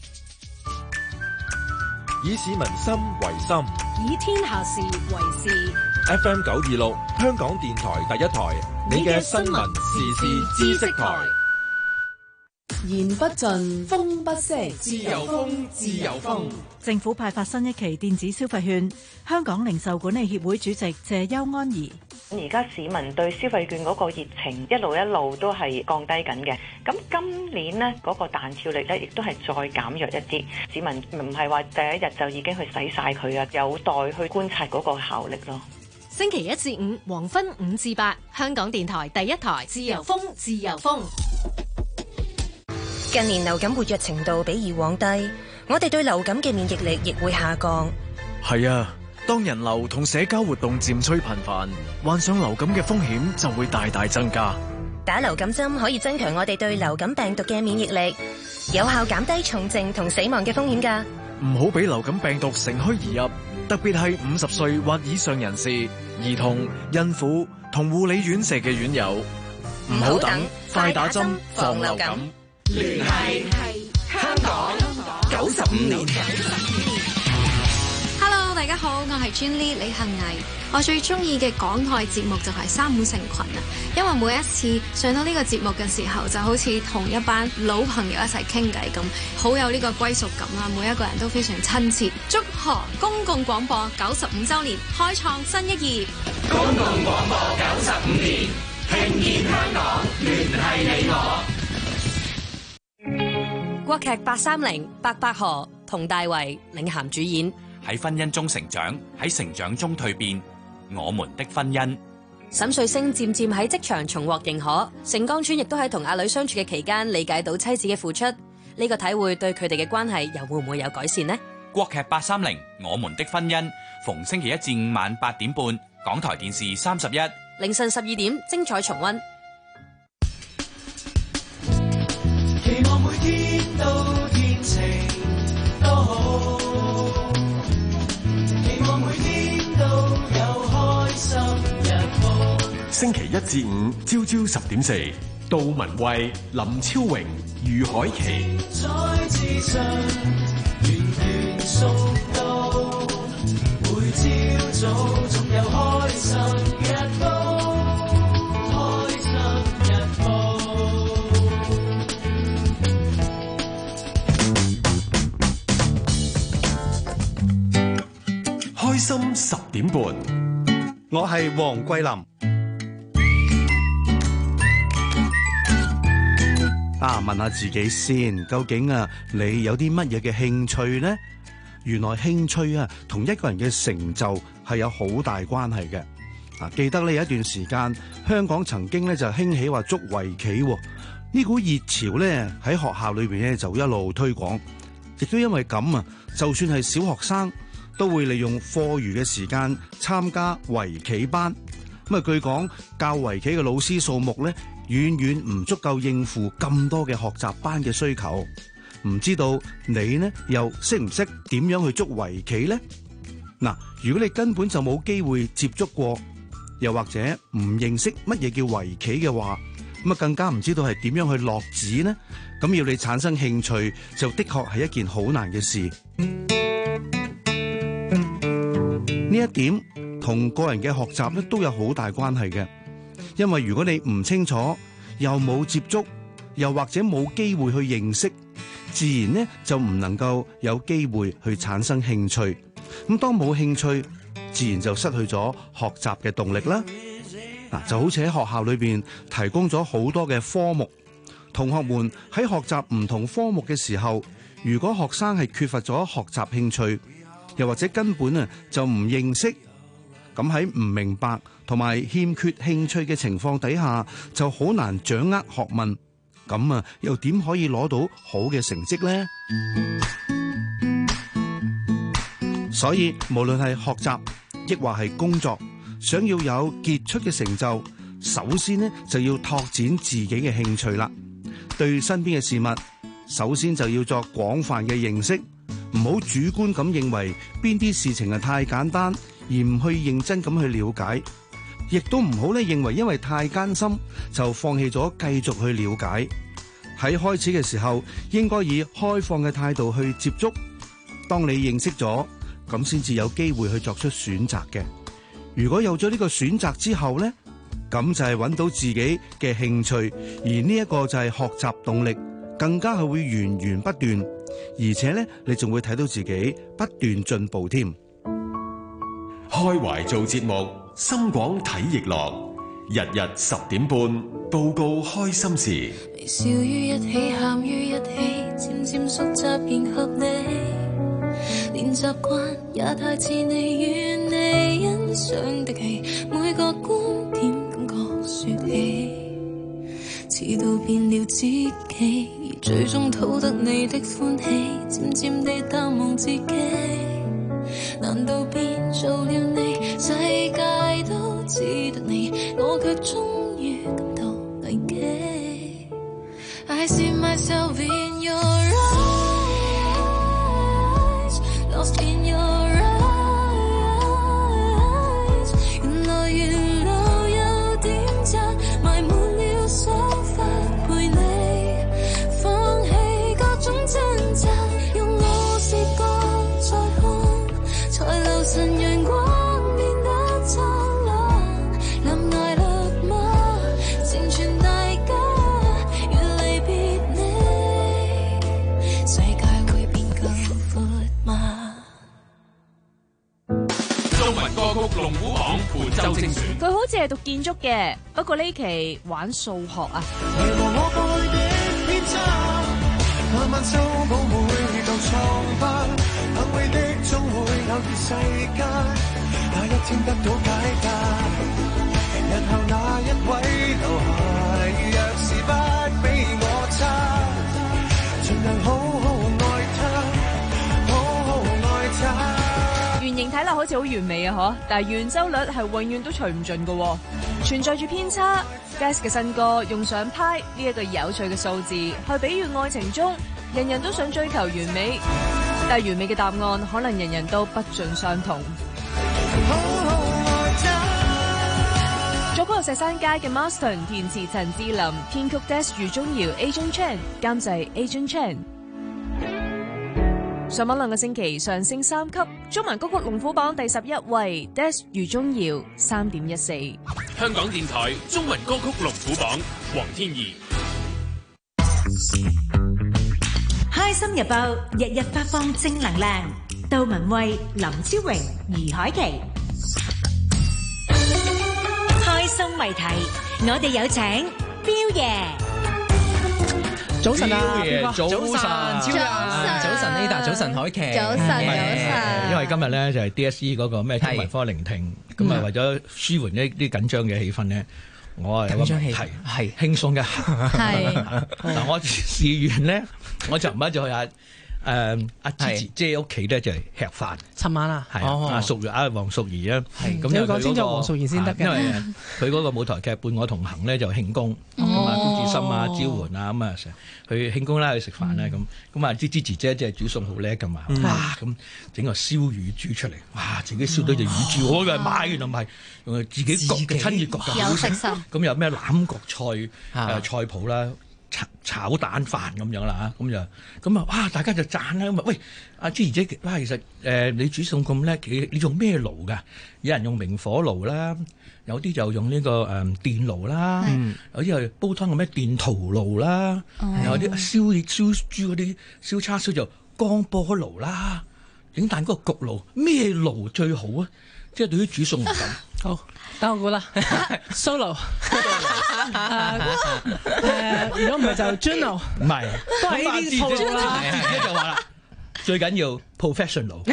A: 以市民心為心，
L: 以天下事為事。
A: F M 九二六，香港電台第一台，你嘅新聞時事知識台。
M: 言不盡，風不息，自由風，自由風。
C: 政府派發新一期電子消費券，香港零售管理協會主席謝邱安儀。
N: 而家市民對消費券嗰個熱情一路一路都係降低緊嘅，咁今年呢嗰個彈跳力呢亦都係再減弱一啲，市民唔係話第一日就已經去使晒佢啊，有待去觀察嗰個效力咯。
L: 星期一至五黃昏五至八，香港電台第一台，自由風，自由風。
O: 近年流感活躍程度比以往低，我哋對流感嘅免疫力亦會下降。
J: 係啊，當人流同社交活動漸趨頻繁，患上流感嘅風險就會大大增加。
O: 打流感針可以增強我哋對流感病毒嘅免疫力，有效減低重症同死亡嘅風險㗎。
J: 唔好俾流感病毒乘虛而入，特別係五十歲或以上人士、兒童、孕婦同護理院舍嘅院友。唔好等，快打針防流感。
P: 聯繫香港九十五年。
Q: Hello， 大家好，我係 Jenny 李幸倪。我最中意嘅港台節目就係《三五成群》啊，因為每一次上到呢個節目嘅時候，就好似同一班老朋友一齊傾偈咁，好有呢個歸屬感啦。每一個人都非常親切。祝賀公共廣播九十五周年，開創新一頁。
P: 公共廣播九十五年，聽見香港，聯繫你我。
R: 國劇八三零，白百何、 佟大為領銜主演。
S: 喺婚姻中成長，喺成長中蛻變，我們的婚姻。
R: 沈瑞星漸漸喺職場重獲認可，盛江川亦都喺同阿女相處嘅期間理解到妻子嘅付出，呢、這個體會對佢哋嘅關係又會唔會有改善呢？
S: 國劇八三零我們的婚姻，逢星期一至五晚八點半，港台電視三十一，
R: 凌晨十二點精彩重溫。
P: 期望每天都天晴多好，期望每天都有開心日報。
A: 星期一至五朝朝十點四，杜文蔚、林超榮、余海琪。
P: 在之上源源送到，每朝早總有開心日報，開心日報。
A: 開心十點半，
T: 我係黃桂林。啊，問下自己先，究竟啊，你有啲乜嘢嘅興趣呢？原來興趣啊，同一個人嘅成就係有好大關係嘅。啊，記得呢有一段時間，香港曾經咧就興起話捉圍棋，呢股熱潮咧喺學校裏邊咧就一路推廣，亦都因為咁啊，就算係小學生都會利用課餘嘅時間參加圍棋班。咁啊，據講教圍棋嘅老師數目咧，遠遠唔足夠應付咁多嘅學習班嘅需求，唔知道你呢又識唔識點樣去捉圍棋呢？嗱，如果你根本就冇機會接觸過，又或者唔認識乜嘢叫圍棋嘅話，咁啊更加唔知道係點樣去落子呢？咁要你產生興趣，就的確係一件好難嘅事。呢一點同個人嘅學習咧都有好大關係嘅。因為如果你唔清楚，又冇接觸，又或者冇機會去認識，自然呢就唔能夠有機會去產生興趣。咁當冇興趣，自然就失去咗學習嘅動力啦。嗱，就好似喺學校裏邊提供咗好多嘅科目，同學們喺學習唔同科目嘅時候，如果學生係缺乏咗學習興趣，又或者根本啊就唔認識，咁喺唔明白同埋欠缺興趣嘅情況底下，就好難掌握學問，咁啊又點可以攞到好嘅成績呢？所以無論係學習亦或係工作，想要有傑出嘅成就，首先呢就要拓展自己嘅興趣啦。對身邊嘅事物，首先就要作廣泛嘅認識，唔好主觀咁認為邊啲事情係太簡單，而唔去認真咁去了解，亦都唔好咧認為因為太艱深就放棄咗繼續去了解。喺開始嘅時候，應該以開放嘅態度去接觸。當你認識咗，咁先至有機會去作出選擇嘅。如果有咗呢個選擇之後呢，咁就係揾到自己嘅興趣，而呢一個就係學習動力，更加係會源源不斷，而且呢，你仲會睇到自己不斷進步添。
A: 開懷做節目，深廣體育樂，日日十點半報告開心事。
U: 微笑於一起，喊於一起，漸漸熟習迎合你，連習慣也太似你，與你欣賞的戲，每個觀點感覺說起，似到變了知己，而最終討得你的歡喜，漸漸地淡忘自己。難道變做了你，世界都只得你，我卻終於感到危機。I see myself in your eyes, lost in your eyes。原來沿路有點讚，埋滿了想法陪你，放棄各種掙扎，用我視覺再看，才留神陽光變得燦爛。臨來勒嗎？成全大家，越離別你，世界會變更闊嗎？
S: 中文歌曲龍虎榜本周精選。
K: 佢好似係讀建築嘅，不過呢期玩數學啊。
P: 為何我過去的偏差，慢慢修補每舊瘡疤，幸會的總會偶遇世間，那一天得到解答。日後那一位留下，若是不比我差，盡量好好愛他，好好愛他。
E: 圓形睇落好似好完美啊，嗬！但係圓周率係永遠都除唔盡嘅，存在住偏差。Des 嘅新歌用上派呢一個有趣嘅數字，去比喻愛情中人人都想追求完美，但係完美嘅答案可能人人都不盡相同。作曲係石山街嘅 Marston， 填詞陳志林，編曲 Des 余宗堯 Agent Chan， 監製 Agent Chan。上網兩個星期上升三級，中文歌曲龍虎榜第十一位 Des 余宗堯三點一四。
V: 香港電台中文歌曲龍虎榜，黃天怡。
C: 開心日報日日發放正能量，杜文蔚、林超榮、余海琪。開心謎題，我哋有請彪爺。
W: 早晨啊，
X: 彪爺，早晨，
W: 超人，早晨 Ada， 早晨海琪，
X: 早晨，早晨。因為今日咧就係 D S E 嗰個咩天文科聆聽，咁啊為咗舒緩一啲緊張嘅氣氛咧，我啊有個問題係輕鬆一下。係嗱，我試完咧，我就唔係就去阿誒阿芝芝姐屋企咧就係吃飯。
W: 尋晚啊，
X: 係阿淑儀阿黃淑儀啊，咁
W: 你要講清楚黃淑儀先得嘅，
X: 因為佢嗰個舞台劇《伴我同行》咧就慶功，咁啊高志森啊、招媛啊咁啊成日去慶功啦，去食飯啦咁，咁啊芝芝姐姐即係煮餸好叻噶嘛，哇咁整個燒乳豬出嚟，哇自己燒到隻乳豬，我以為買原來唔係，用自己焗嘅親熱焗嘅，有食心。咁有咩欖角菜誒菜譜啦？炒炒蛋飯咁樣啦嚇，咁就咁啊！哇！大家就讚啦咁啊！喂，阿芝兒姐，哇！其實誒、呃、你煮餸咁叻，你你用咩爐㗎？有人用明火爐啦，有啲就用呢、這個誒、嗯、電爐啦，嗯、有啲係煲湯嘅咩電陶爐啦，嗯、有啲燒燒豬嗰啲燒叉燒就光波爐啦，整蛋嗰個焗爐咩爐最好啊？即係對於煮餸嚟講，
W: 好，等我估啦 ，Solo， 誒，如果唔係就 Juno， 唔
X: 係，
W: 都係呢啲套路啦。
X: 就話啦，最緊要 professional。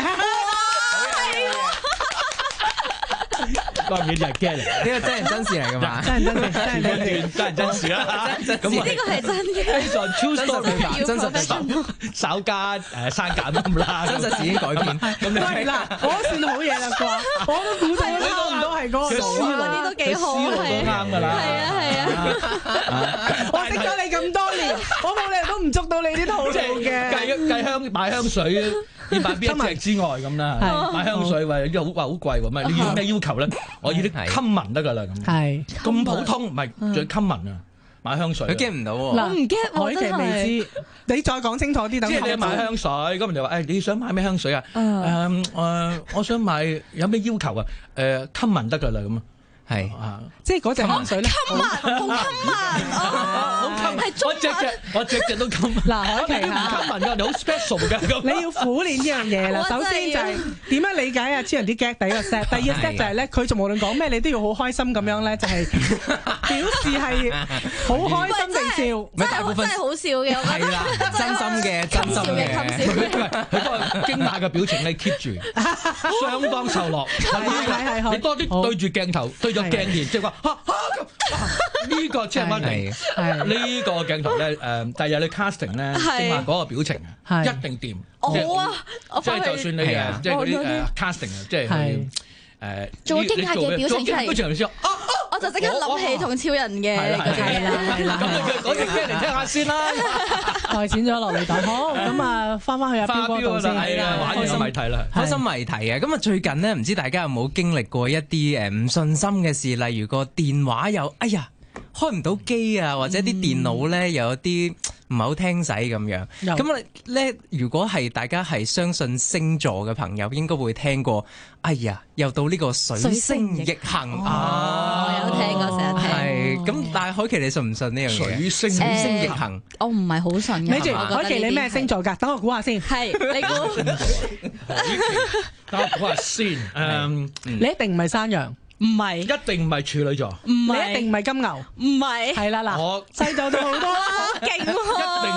X: 當然就係驚嚟，
W: 呢個真人真事嚟㗎嘛？真人真事，真人真事，
X: 真人真事啦。
W: 咁呢個係真嘅，
X: 非常 true story， 真實嘅，稍加誒刪減咁啦。真實事已經改編。咁你
W: 係啦，我算好嘢啦啩，我都估到，你估唔到係嗰個蘇嗰啲都幾好，係
X: 啱㗎啦。
W: 係啊係啊，我識咗你咁多年，我冇理由都唔捉到你啲套路嘅。
X: 計計香買香水。要買邊一隻之外咁啦，買香水喂，啲好話好貴喎，咪你要咩要求咧？我要啲 common 得㗎啦咁。係咁普通，唔係最 common 啊！買香水，
W: 佢 get 唔到喎。嗱，唔 get 我真係未知，你再講清楚啲。
X: 即係你買香水，咁人就話誒，你想買咩香水啊？誒誒，我想買有咩要求啊？誒 common 得㗎啦咁。係啊，
W: 即係嗰隻香水咧，
X: 好襟啊！好襟，我隻隻我隻隻都襟。
W: 嗱，海琪
X: 唔襟文㗎，你好 special 㗎。
W: 你要苦練呢樣嘢啦。首先就係點樣理解啊？超人啲 get 第一個 step， 第二個 step 就係咧，佢就無論講咩，你都要好開心咁樣咧，就係表示係好開心地笑。
E: 真係真係好笑嘅，我覺得。
W: 係啦，真心嘅，真心嘅。
X: 佢嗰個驚訝嘅表情你 keep 住，相當受落。
W: 係係係。
X: 你多啲對住鏡頭，對住鏡前，即係話嚇嚇咁。呢個即係乜嚟？呢個鏡頭咧誒，第日你 casting 咧，正話嗰個表情啊，一定掂。
E: 好啊，
X: 即係就算你誒，即係嗰啲誒 casting 啊，即係誒
E: 做驚嚇嘅表情出嚟。我就即刻諗起同超人嘅，係啦係啦。
X: 咁嗰隻驚嚟聽下先啦。
W: 代錢咗落嚟就好，咁啊翻返去阿彪哥度先。
X: 係啦，玩開心謎題啦，
W: 開心謎題啊！咁啊最近咧，唔知大家有冇經歷過一啲誒唔順心嘅事，例如個電話有哎呀開唔到機啊，或者啲電腦咧有啲唔係好聽使咁樣。咁啊咧，如果係大家係相信星座嘅朋友，應該會聽過。哎呀，又到呢個水星逆行啊！
E: 我有聽過，成日聽。
W: 係咁，但係海琪你信唔信呢樣嘢？
X: 水星
W: 水星逆行，
E: 我唔係好信嘅。
W: 你住海琪，你咩星座㗎？等我估下先。係你估？
X: 等我估下先。誒，
W: 你一定唔係山羊。唔係，
X: 一定唔係處女座，
W: 唔係，你一定唔係金牛，唔係，係啦嗱，我細就咗好多啦，勁喎，
X: 一定啊！我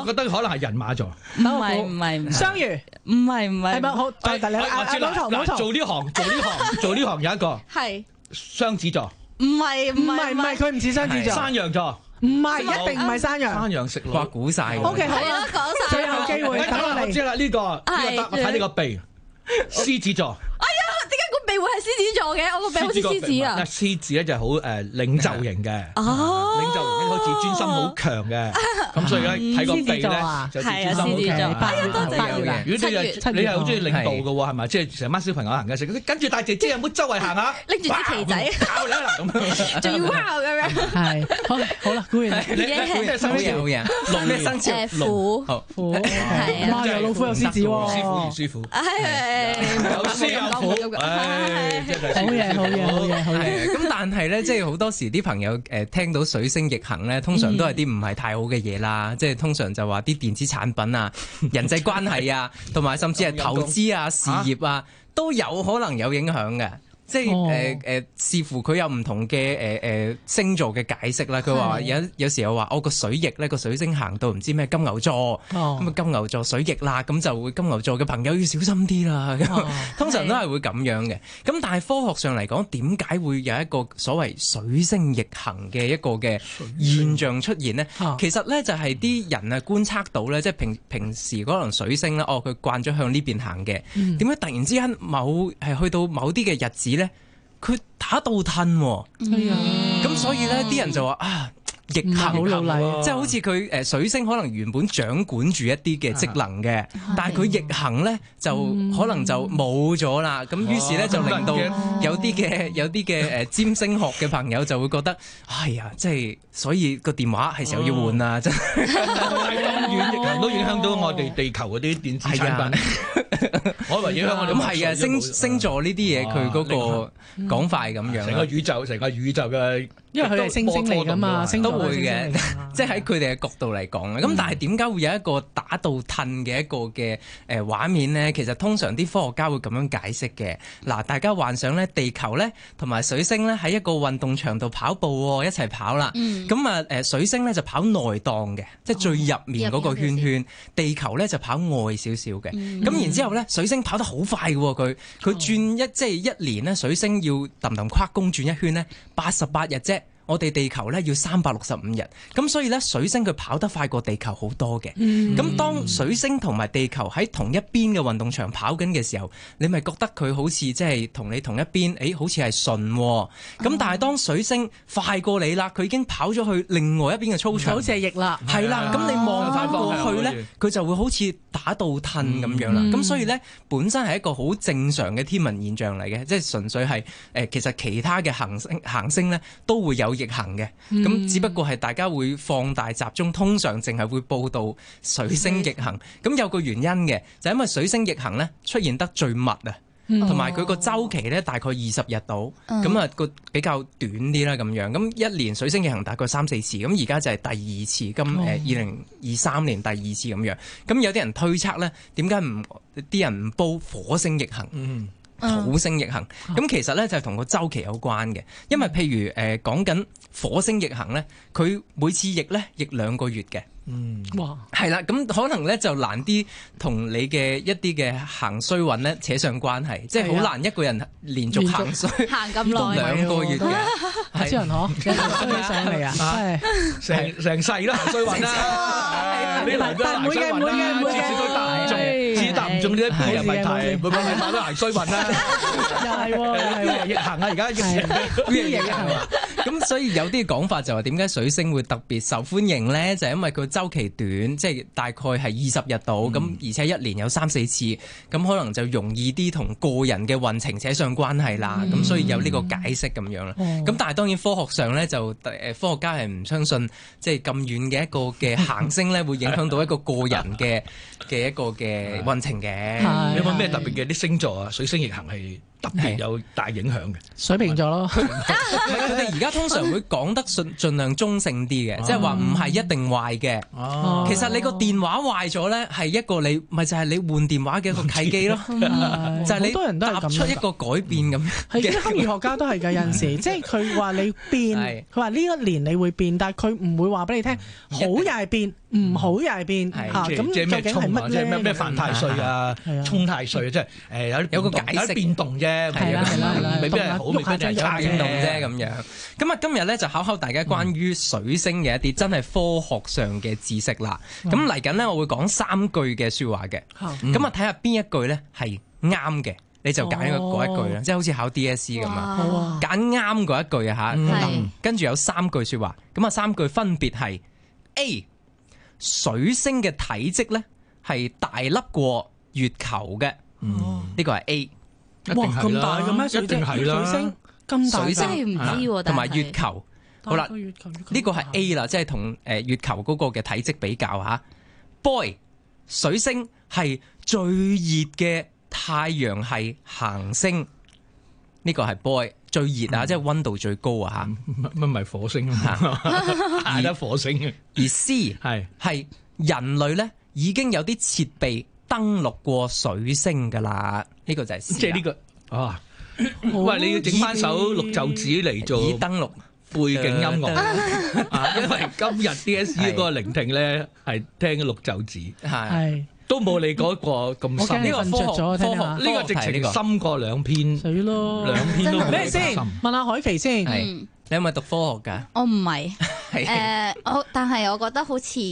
X: 我覺得可能係人馬座。
F: 唔係唔係唔係
G: 雙魚，
F: 唔係唔係。
G: 係咪好？但係你
X: 我
G: 阿
X: 知啦
G: 老頭老頭
X: 嗱做呢行做呢行做呢行有一個
F: 係
X: 雙子座，
F: 唔係
G: 唔係唔係，佢唔似雙子座。
X: 山羊座。
G: 唔係，一定唔係山羊。
X: 山羊食腦，
W: 哇估晒。
G: O K， 好啦，
F: 講晒。
G: 最後機會，等我嚟。
X: 我知啦，呢個呢個得，我睇呢個鼻，獅子座。
F: 哎呀，點解個鼻會係獅子座嘅？我個鼻好似獅子啊！
X: 獅子咧就係好誒領袖型嘅，
F: 哦，
X: 領袖型好似專心好強嘅，咁所以咧睇個鼻咧就專心好強。
F: 哎呀，多謝你啦！
X: 如果你係你係好中意領導嘅喎，係咪？即係成班小朋友行嘅時候，跟住大姐姐有冇周圍行下？
F: 拎住支旗仔，
X: 咁
F: 仲要哇咁樣。
G: 係好好啦，估完。
X: 你你咩生肖？龍咩生肖？
F: 虎。
G: 虎。係啊。有老虎有獅子喎。
X: 師傅與師傅。有獅有虎。唉，真係
G: 好嘢好嘢好嘢好嘢。
W: 咁但係咧，即係好多時啲朋友誒聽到水星逆行咧，通常都係啲唔係太好嘅嘢啦。即係通常就話啲電子產品啊、人際關係啊，同埋甚至係投資啊、事業啊，都有可能有影響嘅。即係誒誒，視乎佢有唔同嘅誒誒星座嘅解釋啦。佢話有有時候話我個水逆咧，個水星行到唔知咩金牛座，咁啊、哦、金牛座水逆啦，咁就會金牛座嘅朋友要小心啲啦。哦、通常都係會咁樣嘅。咁但係科學上嚟講，點解會有一個所謂水星逆行嘅一個嘅現象出現呢？哦、其實咧就係啲人啊觀察到咧，即係平平時可能水星咧，哦佢慣咗向呢邊行嘅，點解、嗯、突然之間某係去到某啲嘅日子咧？佢打倒褪喎，咁、嗯、所以咧啲人就話啊逆行，即係好似佢誒水星可能原本掌管住一啲嘅職能嘅，嗯、但係佢逆行咧就可能就冇咗啦。咁、嗯、於是咧就令到有啲嘅有啲嘅誒占星學嘅朋友就會覺得，哎呀，即係所以個電話係時候要換啦，真係咁遠逆行都影響到我哋地球嗰啲電子產品。我以為影響我哋咁係啊，星星座呢啲嘢佢嗰個講法係咁樣，成個宇宙成個宇宙嘅。因為佢係星星嚟㗎嘛，都會嘅，即係喺佢哋嘅角度嚟講咧。咁、嗯、但係點解會有一個打倒褪嘅一個嘅誒畫面咧？其實通常啲科學家會咁樣解釋嘅。嗱，大家幻想咧，地球咧同埋水星咧喺一個運動場度跑步喎，一齊跑啦。咁啊誒水星咧就跑內檔嘅，即係最入面嗰個圈圈；哦、地球咧就跑外少少嘅。咁、嗯、然之後咧，水星跑得好快嘅喎，佢佢轉一、哦、即係一年咧，水星要揼揼跨弓轉一圈咧，八十八日啫。我哋地球咧要三百六十五日，咁所以咧水星佢跑得快過地球好多嘅。咁、嗯、當水星同埋地球喺同一邊嘅運動場跑緊嘅時候，你咪覺得佢好似即係同你同一邊，誒、欸、好似係順。咁、嗯、但係當水星快過你啦，佢已經跑咗去另外一邊嘅操場，好似係逆啦，係啦。咁、啊、你望翻過去咧，佢就會好似打倒褪咁樣啦。咁、嗯、所以咧本身係一個好正常嘅天文現象嚟嘅，即係純粹係誒其實其他嘅行星行星咧都會有逆行嘅，咁、嗯、只不過係大家會放大集中，通常淨係會報道水星逆行。咁、嗯、有個原因嘅，就係、因為水星逆行咧出現得最密啊，同埋佢個週期咧大概二十日到，咁啊個比較短啲啦咁樣。咁一年水星逆行大概三四次，咁而家就係第二次，今誒二零二三年第二次咁樣。咁有啲人推測咧，點解唔啲人唔報火星逆行？嗯土星逆行，咁、嗯、其實咧就係同個週期有關嘅，因為譬如誒講緊火星逆行咧，佢每次逆咧逆兩個月嘅。嗯，哇，係啦，咁可能咧就難啲同你嘅一啲嘅行衰運咧扯上關係，即係好難一個人連續行衰
F: 行咁耐
W: 兩個月嘅，
G: 係超人嗬，衰上嚟啊，係
X: 成成世都行衰運啦，你嚟都行衰運啦，次次都答唔中，次次答唔中呢一批人問題，每個禮拜都行衰運啦，
G: 又係喎，又係
X: 逆行啊，而家逆行
W: 逆行啊，咁所以有啲講法就話點解水星會特別受歡迎咧？就係因為佢週期短，即係大概係二十日到，咁、嗯、而且一年有三四次，咁可能就容易啲同個人嘅運程扯上關係啦。咁、嗯、所以有呢個解釋咁樣啦。咁、哦、但係當然科學上咧就誒科學家係唔相信，即係咁遠嘅一個嘅行星咧會影響到一個個人嘅嘅一個嘅運程嘅。
X: 有冇咩特別嘅啲星座啊？水星逆行係特別有大影響嘅。
G: 水瓶座咯，
W: 佢哋而家通常會講得盡盡量中性啲嘅，即係話唔係一定壞嘅。
X: 哦，
W: 其實你個電話壞咗咧，係一個你咪就係你換電話嘅一個契機咯，就係你
G: 好多人都係咁
W: 踏出一個改變咁。
G: 係啲心理學家都係㗎，有陣時即係佢話你變，佢話呢一年你會變，但係佢唔會話俾你聽好又係變，唔好又係變嚇。咁究竟係乜咧？
X: 即係咩咩犯太歲啊，沖太歲啊，即係誒有
W: 有個解釋
X: 有啲變動啫，
W: 係啦係啦係啦，
X: 未必係好，未必係差
W: 變動啫咁樣。咁啊，今日咧就考考大家關於水星嘅一啲真係科學上嘅知識啦。咁嚟緊咧，我會講三句嘅説話嘅。咁啊，睇下邊一句咧係啱嘅，你就揀嗰一句啦，即係好似考 D S C 咁啊，揀啱嗰一句啊嚇。跟住有三句説話，咁啊三句分別係 A 水星嘅體積咧係大粒過月球嘅，呢個係 A。
G: 哇，咁大嘅咩？
X: 一定係啦，
G: 水星咁大，
W: 水星
F: 真係唔知喎。
W: 同埋月球，好啦，
G: 月球
W: 呢個係 A 啦，即係同誒月球嗰個嘅體積比較嚇。Boy，水星係最熱嘅太陽系行星，呢個係 Boy 最熱啊，即係溫度最高啊嚇。
X: 乜唔係火星啊？係得火星嘅。
W: 而 C 係係人類咧已經有啲設備登陸過水星㗎啦，呢個就係 C。
X: 即係呢個啊！喂，你要整翻首綠袖子嚟做
W: 以登陸
X: 背景音樂啊！因為今日 D S E 嗰個聆聽咧係聽綠袖子，
W: 係
X: 都冇你嗰個咁深。
G: 呢個瞓着咗，聽下
X: 呢個直情深過兩篇，
G: 死咯！
X: 兩篇都冇
G: 咩先？問下海琪先。
W: 你係咪讀科學㗎？
F: 我唔係，誒，我但係我覺得好似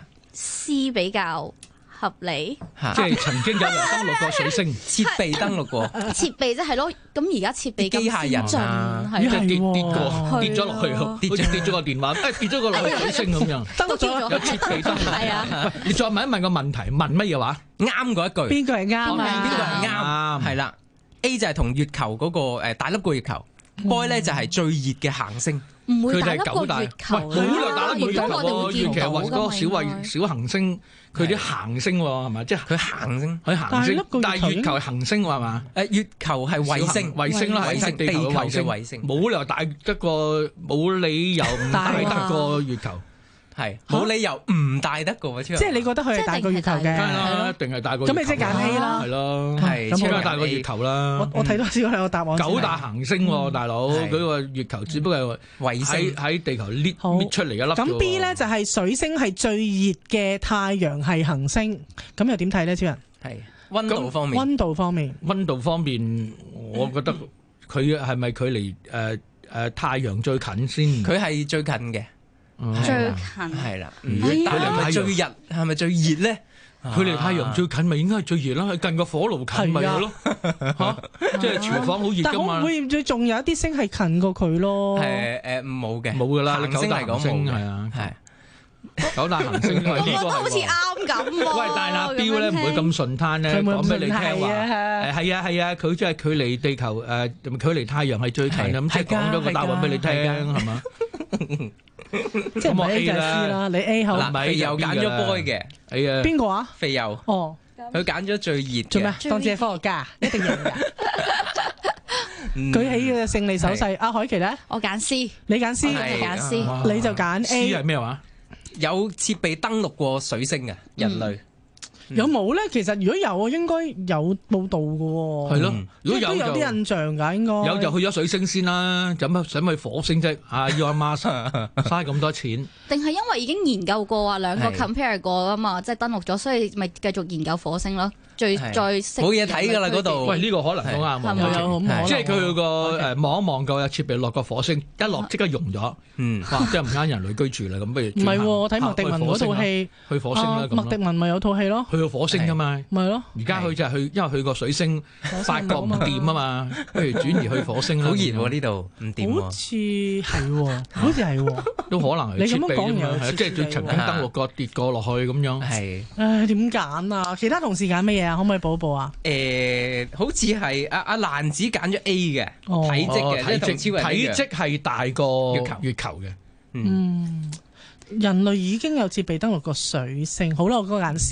F: C 比較合理，
X: 即係曾經有人登陸過水星，
W: 設備登陸過，
F: 設備即係咯。咁而家設備
W: 機械人啊，
X: 即係跌跌過跌咗落去，好似跌咗個電話，誒跌咗個落去水星咁樣，
F: 登陸咗
X: 有設備登陸。
F: 係啊，
X: 喂，你再問一問個問題，問乜嘢話？
W: 啱嗰一句，
G: 邊個係啱啊？
W: 邊個係啱？係啦 ，A 就係同月球嗰個誒大粒過月球 ，Boy 咧就係最熱嘅行星。
F: 唔會大粒過月球，
X: 冇理由大粒過月球喎。月球係個小衛小行星，佢啲行星喎係咪？即係
W: 佢行星，
X: 佢行星。但係月球係行星喎係嘛？
W: 誒月球係衛星，
X: 衛星啦，係地球嘅衛星。冇理由大得過，冇理由唔大得過月球。係
W: 冇理由唔大得過，
G: 即係你覺得佢係大過月球嘅，
X: 一定係大過。
G: 咁你即係揀 A 啦，
X: 係咯，
W: 係
X: 咁梗係大過月球啦。
G: 我我睇到少兩個答案。
X: 九大行星喎，大佬，佢個月球只不過係
W: 衛星
X: 喺地球搣搣出嚟一粒。
G: 咁 B 咧就係水星係最熱嘅太陽系行星，咁又點睇咧？超人
W: 係溫度方面，
G: 溫度方面，
X: 溫度方面，我覺得佢係咪距離誒誒太陽最近先？
W: 佢係最近嘅。
F: 最近
W: 係啦，
X: 佢
W: 係咪最熱？係咪最熱咧？
X: 佢離太陽最近咪應該係最熱啦，近個火爐近咪係咯，嚇！即係廚房好熱㗎嘛。
G: 但會唔會仲有一啲星係近過佢咯？
W: 誒誒冇嘅，
X: 冇㗎啦。
W: 行星嚟講冇嘅，
X: 係啊，
W: 係
X: 九大行星。
F: 我覺得好似啱咁喎。
X: 喂，但係阿標咧唔會咁順攤咧，講俾你聽話。誒係啊係啊，佢即係距離地球誒距離太陽係最近咁，即係講咗個答案俾你聽係嘛？
G: 即係唔係 A 就係 C 啦，你 A 好。
W: 嗱，肥友揀咗 Boy 嘅，
X: 係啊。
G: 邊個啊？
W: 肥友。
G: 哦，
W: 佢揀咗最熱嘅。
G: 做咩？當自己係科學家，一定贏㗎。舉起嘅勝利手勢。阿海琪咧，
F: 我揀 C，
G: 你揀 C，
F: 我揀 C，
G: 你就揀 A。
X: C 係咩話？
W: 有設備登陸過水星嘅人類。
G: 有冇咧？其實如果有，應該有報道嘅喎。
X: 係咯，如果有
G: 都有啲印象㗎，應該
X: 有就去咗水星先啦。做乜想去火星啫？啊，Elon Musk嘥咁多錢，
F: 定係因為已經研究過啊，兩個 compare 過啊嘛，即係登陸咗，所以咪繼續研究火星咯。最再
W: 冇嘢睇㗎啦嗰度。
X: 喂，呢個可能都啱喎。即係佢個誒望一望個設備落個火星，一落即刻溶咗。嗯，哇！即係唔啱人類居住啦。咁不如
G: 唔係喎？我睇麥迪文嗰套戲，
X: 去火星啦。
G: 麥迪文咪有套戲咯。
X: 去到火星㗎嘛？
G: 咪咯。
X: 而家佢就係去，因為去個水星發覺唔掂啊嘛，不如轉移去火星啦。
W: 好熱喎呢度，唔掂。
G: 好似係喎，好似係喎，
X: 都可能係設備啫嘛。即係佢曾經登陸過跌過落去咁樣。係。
G: 唉，點揀啊？其他同事揀乜嘢啊？可唔可以補一補啊？
W: 誒，好似係阿阿蘭子揀咗 A 嘅體積嘅，即係同超人一樣。
X: 體積係大過月球月球嘅。
G: 嗯，人類已經有設備登陸過水星。好啦，我嗰個揀 C 啦。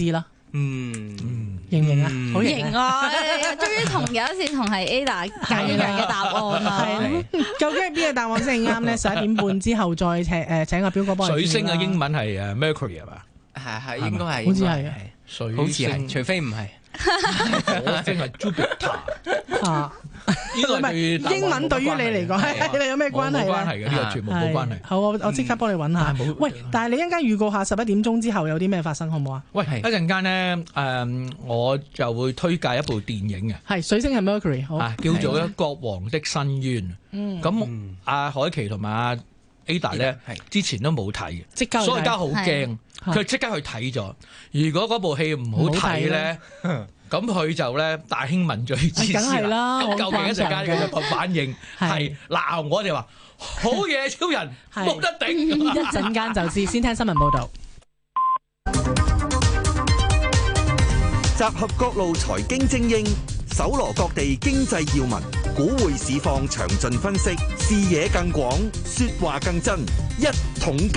W: 嗯，
G: 型唔型啊？好型
F: 型啊！終於同有一次同係 Ada 一樣嘅答案啦。
G: 係究竟係邊個答案先啱咧？十一點半之後再請誒請阿表哥幫我。
X: 水星嘅英文係誒 Mercury 係嘛？
W: 係係應該係，
G: 好似係啊，
X: 水
W: 好似係，除非唔係。
X: 火星係 Jupiter
G: 啊！
X: 呢個係
G: 英文對於你嚟講，你有咩關係咧？
X: 冇關係嘅，呢個全部冇關係。
G: 好，我我即刻幫你揾下。喂，但係你一陣間預告下十一點鐘之後有啲咩發生，好唔好啊？
X: 喂，一陣間咧誒，我就會推介一部電影嘅，
G: 係水星係 Mercury，好
X: 叫做咧《國王的申冤》。
G: 嗯，
X: 咁阿海琪同埋阿 Ada 咧之前都冇睇嘅，所以而家好驚，佢即刻去睇咗。如果嗰部戲唔好睇咧，咁佢就咧大興問罪之師啦。咁究竟一陣間佢個反應係鬧我哋話好嘢超人冇得頂，
G: 一陣間就知。先聽新聞報導。
B: 集合各路財經精英，搜羅各地經濟要聞，股匯市況詳盡分析，視野更廣，說話更真。一桶金，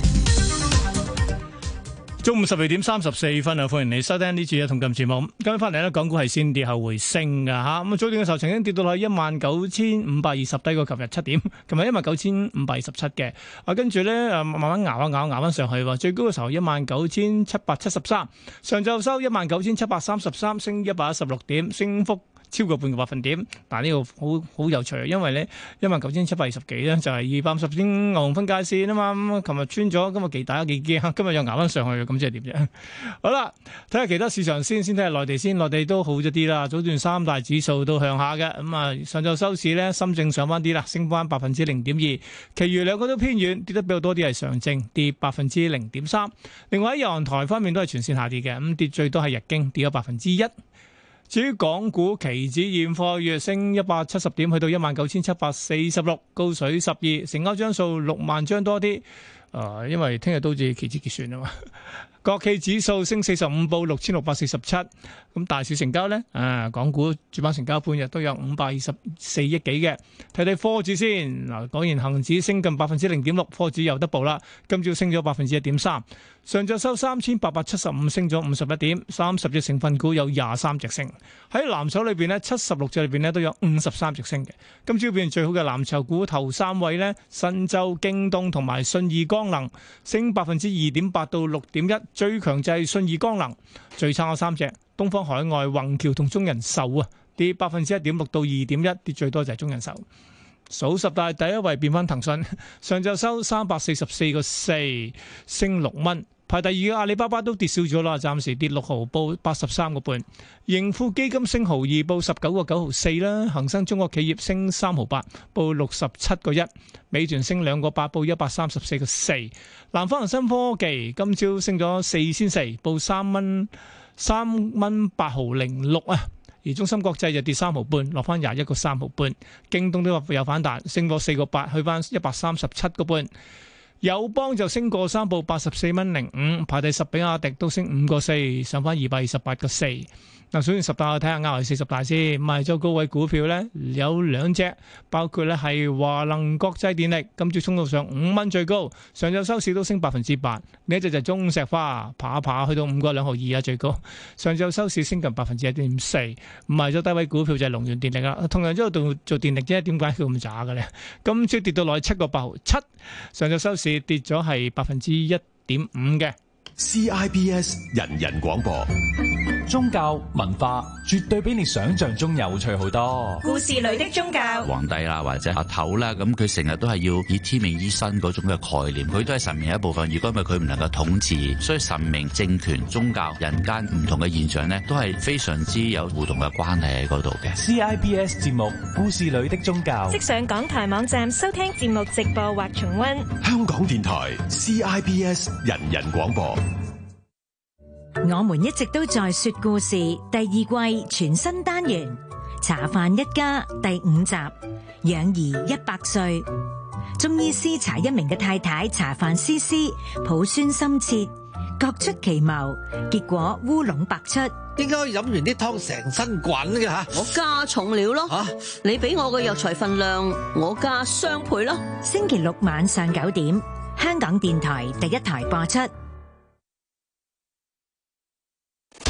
D: 中午十二點三十四分啊！歡迎你收聽呢次嘅一桶金節目。今日翻嚟咧，港股係先跌後回升㗎吓。咁啊，早段嘅時候曾經跌到落去一萬九千五百二十，低過琴日七點。琴日一萬九千五百二十七嘅。啊，跟住咧誒，慢慢熬一熬，熬翻上去。最高嘅時候一萬九千七百七十三，上晝收一萬九千七百三十三，升一百一十六點，升幅超過半個百分點，但係呢個好好有趣，因為咧一萬九千七百二十幾咧就係二百五十天牛熊分界線啊嘛，咁琴日穿咗，今日幾大幾驚，今日又捱翻上去，咁即係點啫？好啦，睇下其他市場先，先睇下內地先，內地都好咗啲啦，早段三大指數都向下嘅，咁啊上晝收市咧，深證上翻啲啦，升翻百分之零點二，其餘兩個都偏軟，跌得比較多啲係上證，跌百分之零點三，另外喺日韓台方面都係全線下跌嘅，咁跌最多係日經跌咗百分之一。至於港股期指現貨月升一百七十點，去到一萬九千七百四十六，高水十二，成交張數六萬張多啲。誒、呃，因為聽日都好似期指結算啊嘛。國企指數升四十五，報六千六百四十七。咁大市成交呢？啊，港股主板成交半日都有五百二十四億幾嘅。睇睇科指先，嗱，果然恒指升近百分之零點六，科指又得報啦。今朝升咗百分之一點三，上晝收三千八百七十五，升咗五十一點，三十隻成分股有廿三隻升。喺藍籌裏邊呢，七十六隻裏邊呢都有五十三隻升嘅。今朝表現最好嘅藍籌股頭三位呢，新洲、京東同埋信義光能，升百分之二點八到六點一。最強就係信義光能，最差嘅三隻，東方海外、宏橋同中人壽啊，跌百分之一點六到二點一，跌最多就係中人壽。數十大第一位變翻騰訊，上晝收三百四十四個四，升六蚊。排第二嘅阿里巴巴都跌少咗啦，暫時跌六毫，報八十三個半。盈富基金升毫二，報十九個九毫四啦。恒生中國企業升三毫八，報六十七個一。美團升兩個八，報一百三十四個四。南方恒生科技今朝升咗四仙四，報三蚊三蚊八毫零六啊。而中芯國際就跌三毫半，落翻廿一個三毫半。京東都有反彈，升咗四個八，去翻一百三十七個半。友邦就升過三，報八十四蚊零五，排第十。比亞迪都升五個四，上翻二百二十八個四。嗱，數完十大，我睇下亞係四十大先。賣咗高位股票咧，有兩隻，包括咧係華能國際電力，今朝衝到上五蚊最高，上晝收市都升百分之八。呢一隻就係中石化，爬一爬去到五個兩毫二啊最高，上晝收市升近百分之一點四。賣咗低位股票就係龍源電力啦，同樣都度做電力啫，點解佢咁渣嘅咧？今朝跌到落去七個八毫七，上晝收市跌咗係百分之一點五嘅。
A: C I B S 人人廣播，
H: 宗教文化絕對比你想象中有趣好多。
C: 故事裏的宗教，
I: 皇帝啦或者阿頭啦，咁佢成日都係要以天命依身嗰種嘅概念，佢都係神明一部分。如果唔係佢唔能夠統治，所以神明、政權、宗教、人間唔同嘅現象呢，都係非常之有互動嘅關係喺嗰度嘅。
H: C I B S 節目《故事裏的宗教》，
L: 即上港台網站收聽節目直播或重溫。
A: 香港電台 C I B S 人人廣播。
C: 我們一直都在說故事第二季全新單元《茶飯一家》第五集《養兒一百歲》。中醫師查一鳴嘅太太茶飯思思抱孫心切，各出奇謀，結果烏龍百出。
Y: 應該飲完啲湯成身滾嘅吓，
Z: 我加重料咯。
Y: 吓，
Z: 你俾我嘅藥材分量，我加雙倍咯。
C: 星期六晚上九點，香港電台第一台播出。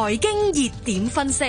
L: 財經熱點分析。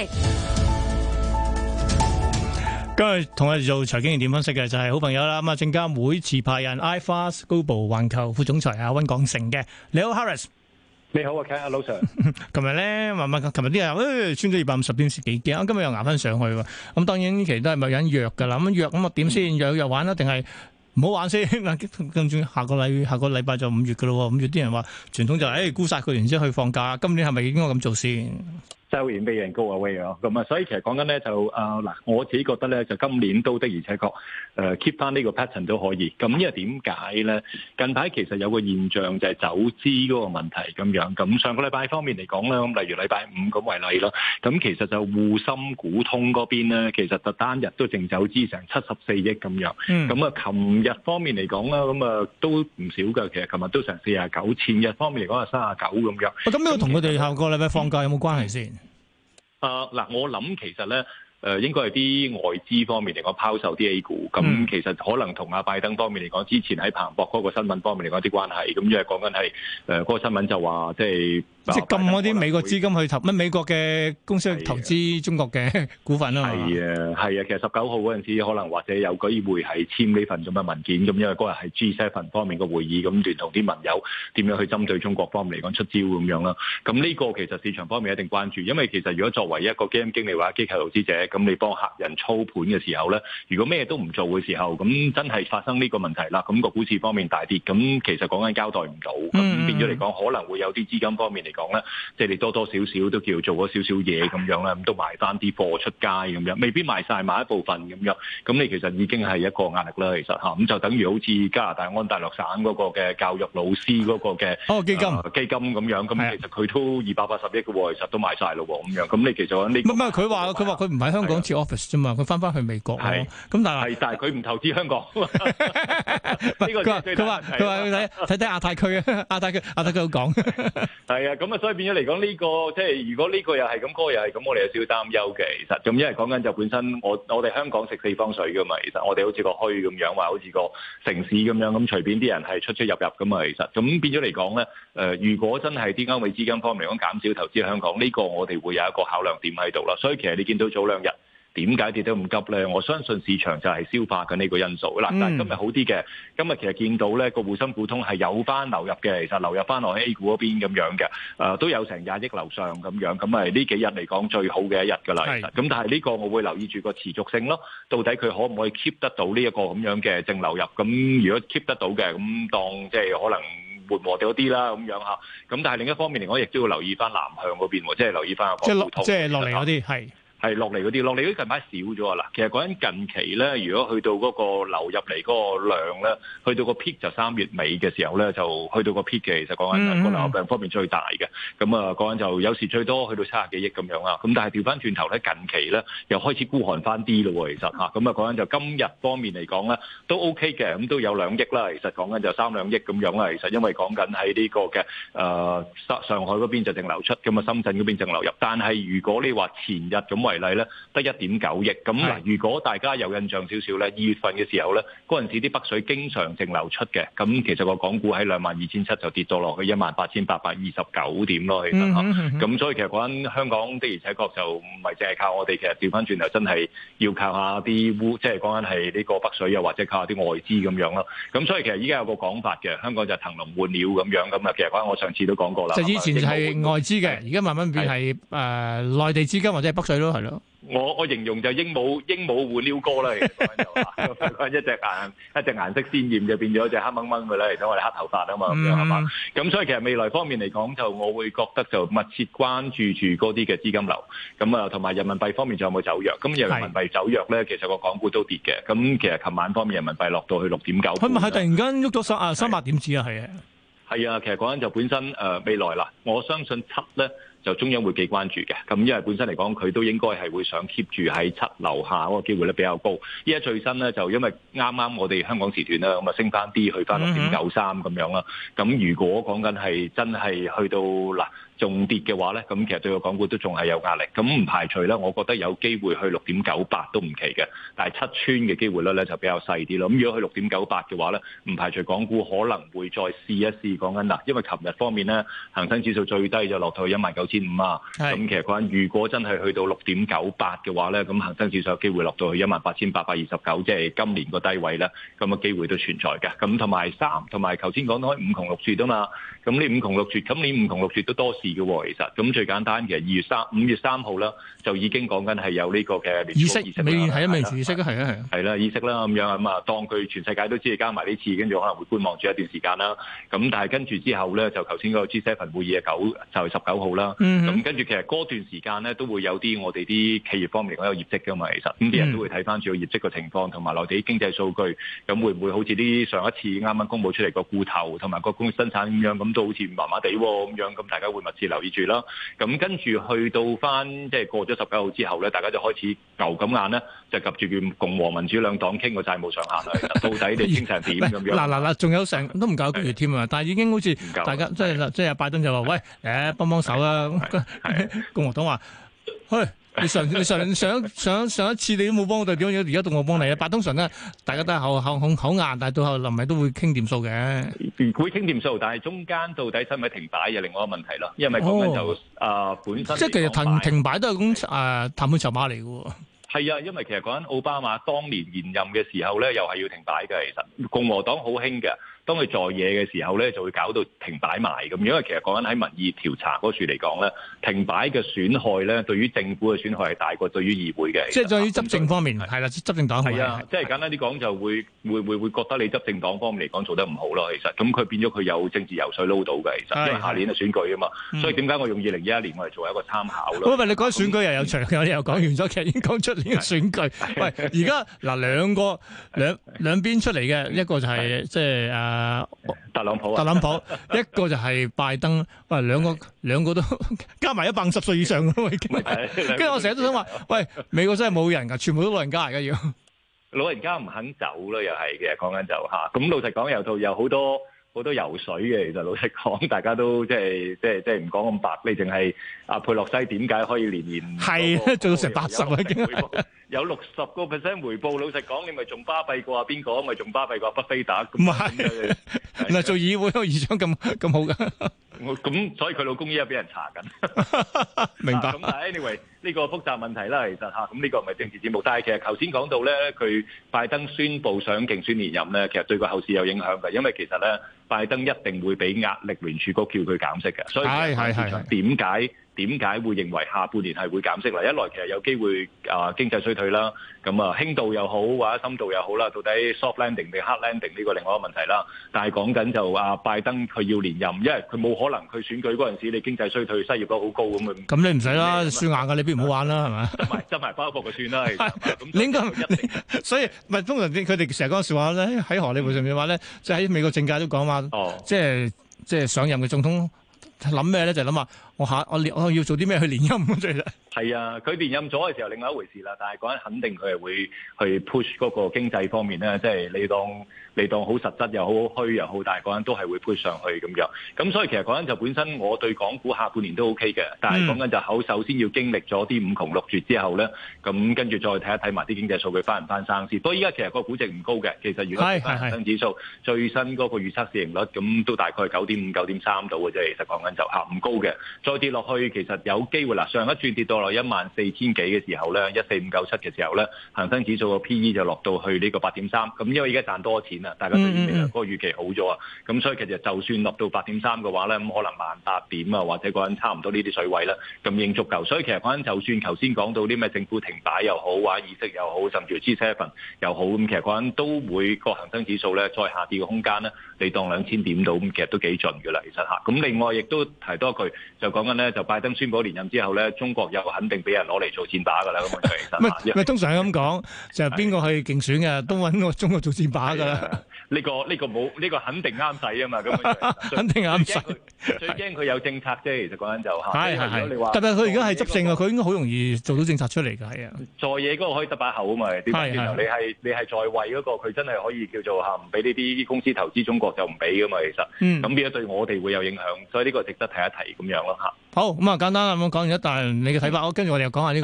D: 今日同我哋做財經熱點分析嘅就係好朋友啦，咁啊證監會持牌人 iFast Global 環球副總裁阿溫廣成嘅，你好 Harris。
J: 你好啊 Ken 阿老 Sir。
D: 琴日咧，慢慢，琴日啲人誒穿咗二百五十點，幾驚，今日又捱翻上去喎。咁當然呢期都係咪有人弱㗎啦？咁弱咁啊點先？弱弱玩啦，定係唔好玩先？跟住下個禮下個禮拜就五月㗎咯喎，五月啲人話傳統就係誒沽曬佢，然之後去放假。今年係咪應該咁做先？
J: 收完俾人高啊威啊，咁啊，所以其實講緊咧就啊嗱、呃，我自己覺得咧就今年都的而且確誒 keep 翻呢個 pattern 都可以。咁因為點解咧？近排其實有個現象就係走資嗰個問題咁樣。咁上個禮拜方面嚟講咧，咁例如禮拜五咁為例咯。咁其實就滬深股通嗰邊咧，其實就單日都淨走資成七十四億咁樣。咁啊、嗯，琴日方面嚟講啦，咁啊都唔少㗎。其實琴日都成四十九，前日方面嚟講係三十九咁樣。
D: 咁呢個同佢哋下個禮拜放假有冇關係先？
J: 啊嗱、呃，我諗其實咧，誒、呃、應該係啲外資方面嚟講拋售啲 A 股，咁、嗯、其實可能同阿拜登方面嚟講，之前喺彭博嗰個新聞方面嚟講啲關係，咁因為講緊係誒嗰個新聞就話即係。即係禁嗰啲美國資金去投乜美國嘅公司去投資中國嘅股份啊嘛。係啊，係啊，其實十九號嗰陣時可能或者有機會係簽呢份咁嘅文件，咁因為嗰日係 G 七 方面嘅會議，咁聯同啲盟友點樣去針對中國方面嚟講出招咁樣啦。咁呢個其實市場方面一定關注，因為其實如果作為一個基金經理或者機構投資者，咁你幫客人操盤嘅時候咧，如果咩都唔做嘅時候，咁真係發生呢個問題啦，咁個股市方面大跌，咁其實講緊交代唔到，咁變咗嚟講可能會有啲資金方面嚟講咧，即係你多多少少都叫做咗少少嘢咁樣啦，咁都賣翻啲貨出街咁樣，未必賣晒，賣一部分咁樣，咁你其實已經係一個壓力啦，其實嚇，咁就等於好似加拿大安大略省嗰個嘅教育老師嗰個嘅
D: 哦基金、
J: 呃、基金咁樣，咁其實佢都二百八十億嘅喎，其實都賣晒咯喎，咁樣，咁你其實呢？唔係佢話佢話佢唔喺香港設 office 啫嘛，佢翻翻去美國咯，咁但係係但係佢唔投資香港，呢個佢話佢話佢話睇睇睇亞太區啊，亞太區亞太區好講，係啊，咁啊，所以變咗嚟講。呢、這個即係如果呢個又係咁，嗰個又係咁，我哋有少少擔憂嘅。其實咁，因為講緊就本身我我哋香港食四方水噶嘛，其實我哋好似個墟咁樣，話好似個城市咁樣，咁隨便啲人係出出入入噶嘛。其實咁變咗嚟講咧，誒、呃，如果真係啲歐美資金方面嚟講減少投資香港，呢、這個我哋會有一個考量點喺度啦。所以其實你見到早兩日。點解跌得咁急咧？我相信市場就係消化緊呢個因素嗱。但係今日好啲嘅，今日其實見到咧個滬深股通係有翻流入嘅，其實流入翻落 A 股嗰邊咁樣嘅，誒、呃、都有成廿億樓上咁樣，咁係呢幾日嚟講最好嘅一日㗎啦。其實咁，但係呢個我會留意住個持續性咯，到底佢可唔可以 keep 得到呢一個咁樣嘅正流入？咁如果 keep 得到嘅，咁當即係可能緩和咗啲啦咁樣嚇。咁但係另一方面嚟講，亦都要留意翻南向嗰邊，即係留意翻個股通，即係落嚟嗰啲係。係落嚟嗰啲，落嚟嗰啲近排少咗啊！嗱，其實講緊近期咧，如果去到嗰個流入嚟嗰個量咧，去到個 peak 就三月尾嘅時候咧，就去到個 peak 嘅。其實講緊個流入量方面最大嘅，咁啊講緊就有時最多去到七十幾億咁樣啦。咁但係調翻轉頭咧，近期咧又開始孤寒翻啲咯喎。其實嚇，咁啊講緊就今日方面嚟講咧都 OK 嘅，咁都有兩億啦。其實講緊就三兩億咁樣啦。其實因為講緊喺呢個嘅誒上上海嗰邊就淨流出，咁啊深圳嗰邊淨流入。但係如果你話前日咁為例咧，得一點九億咁嗱。如果大家有印象少少咧，二月份嘅時候咧，嗰陣時啲北水經常淨流出嘅，咁其實個港股喺兩萬二千七就跌到落去一萬八千八百二十九點咯。其實嚇，咁所以其實講緊香港的而且確就唔係淨係靠我哋，其實調翻轉頭真係要靠下啲烏，即係講緊係呢個北水又或者靠下啲外資咁樣咯。咁所以其實依家有個講法嘅，香港就騰籠換鳥咁樣咁啊。其實講緊我上次都講過啦，就以前係外資嘅，而家慢慢變係誒內地資金或者係北水咯，係咯。我我形容就鸚鵡鸚鵡換鷯哥啦，其實就話一隻顏一隻顏色鮮豔就變咗隻黑掹掹嘅啦，嚟講我哋黑頭髮啊嘛，咁樣係嘛？咁所以其實未來方面嚟講，就我會覺得就密切關注住嗰啲嘅資金流，咁啊同埋人民幣方面仲有冇走弱？咁人民幣走弱咧，其實個港股都跌嘅。咁其實琴晚方面人民幣落到去六點九，佢咪係突然間喐咗三啊三百點子啊？係啊，係啊，其實講緊就本身誒、呃、未來啦，我相信七咧。就中央會幾關注嘅，咁因為本身嚟講佢都應該係會想 keep 住喺七樓下嗰個機會咧比較高。依家最新咧就因為啱啱我哋香港時段啦，咁啊升翻啲去翻六點九三咁樣啦。咁如果講緊係真係去到嗱仲跌嘅話咧，咁其實對個港股都仲係有壓力。咁唔排除咧，我覺得有機會去六點九八都唔奇嘅，但係七穿嘅機會率咧就比較細啲咯。咁如果去六點九八嘅話咧，唔排除港股可能會再試一試講緊嗱，因為琴日方面咧恒生指數最低就落到去一萬九千千五啊。咁其實講緊如果真係去到六點九八嘅話咧，咁恒生指數有機會落到去一萬八千八百二十九，即係今年個低位咧，咁嘅機會都存在嘅。咁同埋三，同埋頭先講到五窮六絕啊嘛。咁呢五窮六絕，今年五窮六絕都多事嘅喎，其實。咁最簡單嘅二月三五月三號啦，就已經講緊係有呢個嘅聯儲
D: 議息，美元係啊，美元議息啊，係啊，係啊。
J: 係啦，議息啦咁樣咁啊，當佢全世界都知你加埋呢次，跟住可能會觀望住一段時間啦。咁但係跟住之後咧，就頭先嗰個 G 七 會議嘅九就係十九號啦。咁、嗯、跟住其實嗰段時間咧，都會有啲我哋啲企業方面嚟講有業績㗎嘛，其實咁啲人都會睇翻住個業績嘅情況，同埋內地經濟數據，咁會唔會好似啲上一次啱啱公佈出嚟個固投同埋個工業生產咁樣，咁都好似麻麻地喎咁樣，咁大家會密切留意住啦。咁跟住去到翻即係過咗十九號之後咧，大家就開始牛咁眼咧，就及住叫共和民主兩黨傾個債務上限啦。到底你傾成點咁樣？嗱嗱嗱，仲有成都唔夠一個月添啊！但係已經好似大家即係即係拜登就話：喂，誒幫幫手啦！共和黨話：去。你上你上上上上一次你都冇幫我哋點樣，而家到我幫你啊！但通常咧，大家都係口口口口硬，但係到後臨尾都會傾掂數嘅。會傾掂數，但係中間到底使唔使停擺又另外一個問題咯。因為講緊就啊、呃、本身
D: 即係其實停停擺都係咁誒談判籌碼嚟嘅喎。
J: 係啊，因為其實講緊奧巴馬當年連任嘅時候咧，又係要停擺嘅。其實共和黨好興嘅。當佢在野嘅時候咧，就會搞到停擺埋咁。因為其實講緊喺民意調查嗰處嚟講咧，停擺嘅損害咧，對於政府嘅損害係大過對於議會嘅。
D: 即係對於執政方面係啦，執政黨
J: 係啊，即係簡單啲講就會會會會覺得你執政黨方面嚟講做得唔好咯。其實咁佢變咗佢有政治油水撈到嘅。其實因為下年嘅選舉啊嘛，嗯、所以點解我用二零二一年我嚟做一個參考咯？
D: 喂，你講選舉又有長，我哋又講完咗，其實已經講出年嘅選舉。喂，而家嗱兩個兩兩邊出嚟嘅，一個就係即係誒。
J: 特朗普啊，
D: 特朗普一個就係拜登，喂，兩個兩個都加埋一百五十歲以上咯，已經。跟住我成日都想話，喂，美國真係冇人㗎，全部都老人家而家要。
J: 老人家唔肯走咯，又係嘅，講緊就嚇。咁老實講，有套有好多好多游水嘅，其實老實講，大家都即係即係即係唔講咁白，你淨係阿佩洛西點解可以年年
D: 係啊做到成八十啊已經。
J: 有六十個 percent 回報，老實講，你咪仲巴閉過啊邊個？咪仲巴閉過巴菲特？
D: 唔係，嗱做議會個議長咁咁好噶。
J: 咁所以佢老公依家俾人查緊。
D: 明白。
J: 咁但係 anyway 呢個複雜問題啦，其實嚇咁呢個唔係政治節目，但係其實頭先講到咧，佢拜登宣布想競選連任咧，其實對個後市有影響嘅，因為其實咧拜登一定會俾壓力聯儲局叫佢減息嘅，所以係係係點解？點解會認為下半年係會減息啦？一來其實有機會啊、呃、經濟衰退啦，咁啊輕度又好或者深度又好啦，到底 soft landing 定 hard landing 呢個另外一個問題啦。但係講緊就啊拜登佢要連任，因為佢冇可能佢選舉嗰陣時你經濟衰退、失業率好高咁啊。
D: 咁你唔使啦，輸硬㗎，你邊唔好玩啦，係咪？
J: 執埋執埋包袱就算啦。咁
D: 你應該一定，所以唔係通常佢哋成日講笑話咧，喺荷里活上面話咧，即係喺美國政界都講話，哦、即係即係上任嘅總統。諗咩咧？就諗下我下我我要做啲咩去連任咁啫。
J: 係啊，佢連任咗嘅時候另外一回事啦。但係講緊肯定佢係會去 push 嗰個經濟方面咧，即係你當你當好實質又好虛又好，但係講緊都係會 push 上去咁樣。咁所以其實講緊就本身我對港股下半年都 OK 嘅，但係講緊就好首先要經歷咗啲五窮六絕之後咧，咁跟住再睇一睇埋啲經濟數據翻唔翻生先。不過依家其實個估值唔高嘅，其實如果睇翻恒生指數最新嗰個預測市盈率，咁都大概九點五、九點三度嘅啫。其實講緊就嚇唔高嘅，再跌落去其實有機會啦。上一轉跌到落一萬四千幾嘅時候咧，一四五九七嘅時候咧，恒生指數個 P E 就落到去呢個八點三。咁因為而家賺多錢啦，大家對未來嗰個預期好咗啊。咁所以其實就算落到八點三嘅話咧，咁可能萬八點啊，或者嗰陣差唔多呢啲水位啦，咁已經足夠。所以其實嗰陣就算頭先講到啲咩政府停擺又好，或者議息又好，甚至乎 G 七 又好，咁其實嗰陣都會個恒生指數咧再下跌嘅空間咧，你當兩千點到，咁其實都幾盡㗎啦。其實嚇，咁另外亦都提多句，就講緊咧，就拜登宣布連任之後咧，中國又肯定俾人攞嚟做箭靶㗎啦。咁其實
D: 唔係通常係咁講，就係邊個去競選嘅都揾個中國做箭靶㗎啦。
J: 呢個呢個冇呢個肯定啱使啊嘛，咁
D: 肯定啱使。
J: 最驚佢有政策啫，其實講緊就嚇。
D: 係係係。特別佢而家係執政啊，佢應該好容易做到政策出嚟㗎，係啊。
J: 在野嗰個可以得把口啊嘛，點解？你係你係在位嗰個，佢真係可以叫做嚇唔俾呢啲公司投資中國就唔俾㗎嘛，其實。嗯。咁變咗對我哋會有影響，所以呢個值得提一提咁樣咯嚇。
D: 好咁啊，簡單啦，咁講完一，但係你嘅睇法，我跟住我哋又講下呢個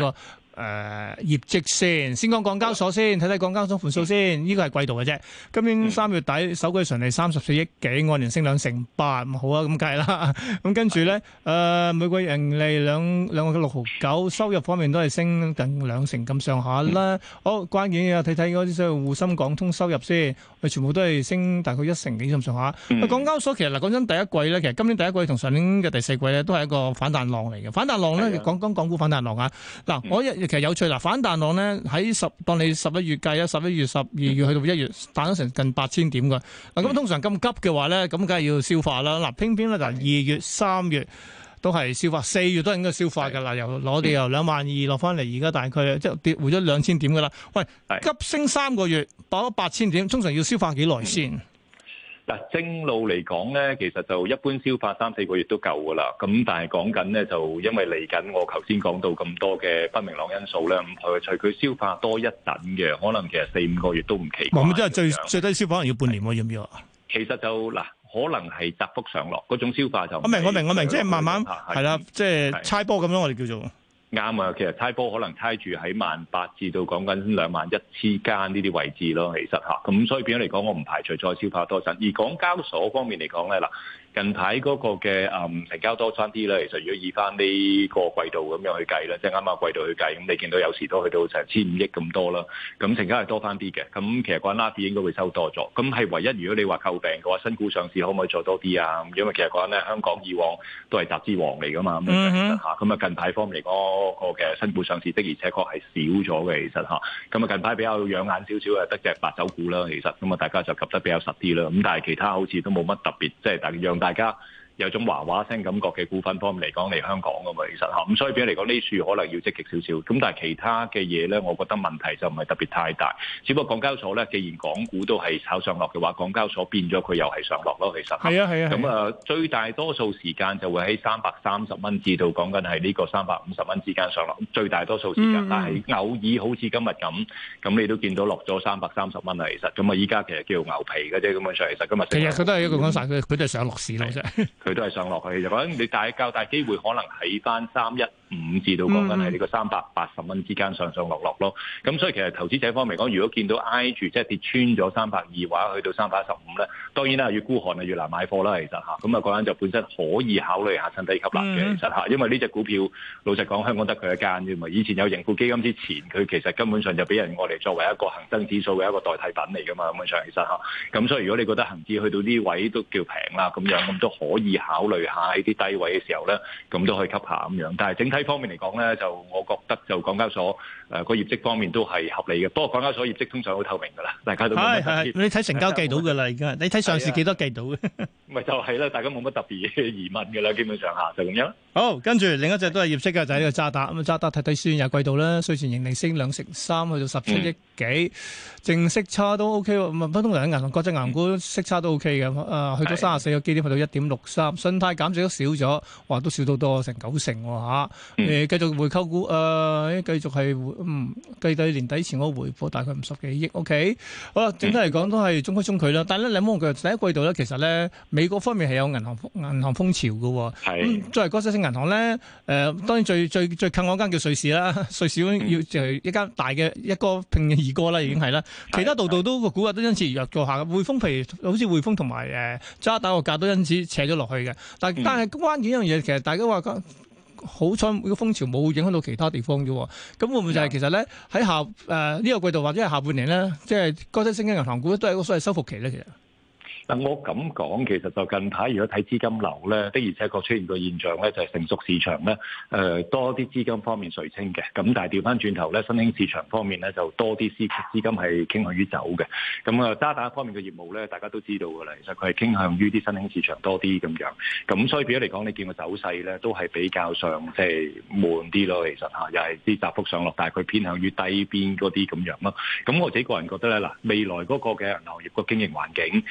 D: 誒業績先，先講港交所先，睇睇港交所盤數先。呢個係季度嘅啫。今年三月底首季純利三十四億幾，按年升兩成八，好啊咁計啦。咁跟住咧，誒每季盈利兩兩個六毫九，收入方面都係升近兩成咁上下啦。好，關鍵嘅睇睇嗰啲所謂滬深港通收入先，佢全部都係升大概一成幾咁上下。港交所其實嗱講真，第一季咧，其實今年第一季同上年嘅第四季咧，都係一個反彈浪嚟嘅。反彈浪咧，講講港股反彈浪啊。嗱，我一其實有趣啦，反彈浪咧喺十當你十一月計啊，十一月、十二月去到一月彈咗成近八千點㗎。嗱，咁通常咁急嘅話咧，咁梗係要消化啦。嗱，偏偏咧就二月、三月都係消化，四月都應該消化㗎啦。由攞地由兩萬二落翻嚟，而家大概即係跌回咗兩千點㗎啦。喂，急升三個月，爆咗八千點，通常要消化幾耐先？
J: 嗱，正路嚟講咧，其實就一般消化三四個月都夠噶啦。咁但係講緊咧，就因為嚟緊我頭先講到咁多嘅不明朗因素咧，唔排除佢消化多一等嘅，可能其實四五個月都唔奇怪。
D: 咁即係最最低消化可能要半年喎，要唔要啊？
J: 其實就嗱，可能係窄幅上落嗰種消化就
D: 我明我明我明，即係慢慢係啦，即係猜波咁樣，我哋叫做。
J: 啱啊，其實猜波可能猜住喺萬八至到講緊兩萬一之間呢啲位置咯，其實嚇，咁所以變咗嚟講，我唔排除再消化多陣。而港交所方面嚟講咧，嗱。近排嗰個嘅誒成交多翻啲咧，其實如果以翻呢個季度咁樣去計咧，即係啱啱季度去計，咁你見到有時都去到成千五億咁多啦，咁成交係多翻啲嘅，咁其實個拉比應該會收多咗，咁係唯一如果你話詬病嘅話，新股上市可唔可以做多啲啊？因為其實講咧，香港以往都係集資王嚟噶嘛，咁樣嚇，咁啊近排方面嚟講，個嘅新股上市的而且確係少咗嘅，其實嚇，咁啊近排比較養眼少少嘅得隻白酒股啦，其實咁啊大家就及得比較實啲啦，咁但係其他好似都冇乜特別，即係大讓大家有種嘩嘩聲感覺嘅股份方面嚟講嚟香港㗎嘛，其實嚇，咁所以變咗嚟講呢處可能要積極少少，咁但係其他嘅嘢咧，我覺得問題就唔係特別太大，只不過港交所咧，既然港股都係炒上落嘅話，港交所變咗佢又係上落咯，其實
D: 係啊係啊，
J: 咁啊最大多數時間就會喺三百三十蚊至到講緊係呢個三百五十蚊之間上落，最大多數時間，嗯、但係偶爾好似今日咁，咁你都見到落咗三百三十蚊啦，其實，咁啊依家其實叫牛皮嘅啫，咁樣上其實今日
D: 其實佢都係一個講晒，佢佢都係上落市咯啫。
J: 佢都係上落去，就講你大較大機會可能喺翻三一五至到講緊係呢個三百八十蚊之間上上落落咯。咁所以其實投資者方面講，如果見到挨住即係跌穿咗三百二或者去到三百一十五咧，當然啦，越孤寒啊越難買貨啦。其實嚇，咁啊嗰陣就本身可以考慮下趁低吸納嘅。其實嚇，因為呢隻股票老實講，香港得佢一間啫嘛。以前有盈富基金之前，佢其實根本上就俾人我哋作為一個恒生指數嘅一個代替品嚟噶嘛。咁樣上其實嚇，咁所以如果你覺得恒指去到呢位都叫平啦，咁樣咁都可以考慮下喺啲低位嘅時候咧，咁都可以吸下咁樣。但係整體方面嚟講咧，就我覺得就港交所誒個業績方面都係合理嘅。不過港交所業績通常好透明㗎啦，大家都係係
D: 你睇成交計到㗎啦，而家你睇上市幾多計到嘅，
J: 咪就係啦，大家冇乜特別嘅疑問㗎啦，基本上下就咁樣。
D: 好，跟住另一隻都係業績嘅就係呢個渣打咁啊，渣打睇睇先，有季度啦，稅前盈利升兩成三，去到十七億幾，淨息差都 OK 喎。咁啊，普通人喺銀行國際銀行股息差都 OK 嘅，誒去到三十四個基點，去到一點六三，信貸減值都少咗，哇都少到多成九成喎嚇。誒繼續回購股誒，繼續係嗯計到年底前嗰個回報大概五十幾億 OK。好啦，整體嚟講都係中規中矩啦。但係咧，你冇佢第一季度咧，其實咧美國方面係有銀行銀行風潮嘅喎。係。作為國際性銀行咧，誒、呃、當然最最最近嗰間叫瑞士啦，瑞士要就係一間大嘅一哥拼二哥啦，已經係啦。其他度度都個股價都因此而弱過下嘅。匯豐譬如好似匯豐同埋誒渣打個價都因此扯咗落去嘅。但係但係關鍵一樣嘢，其實大家話好彩個風潮冇影響到其他地方啫。咁會唔會就係其實咧喺下誒呢、呃這個季度或者係下半年咧，即係國際性嘅銀行股都係一個所謂收復期咧，其實。
J: 嗱，我咁講，其實就近排如果睇資金流咧，的而且確出現個現象咧，就係成熟市場咧，誒、呃、多啲資金方面垂青嘅。咁但係調翻轉頭咧，新興市場方面咧就多啲資資金係傾向於走嘅。咁啊，渣打方面嘅業務咧，大家都知道㗎啦。其實佢係傾向於啲新興市場多啲咁樣。咁所以變咗嚟講，你見個走勢咧，都係比較上即係悶啲咯。其實嚇，又係啲窄幅上落，但係佢偏向於低邊嗰啲咁樣咯。咁我自己個人覺得咧，嗱，未來嗰個嘅銀行業個經營環境，咁老實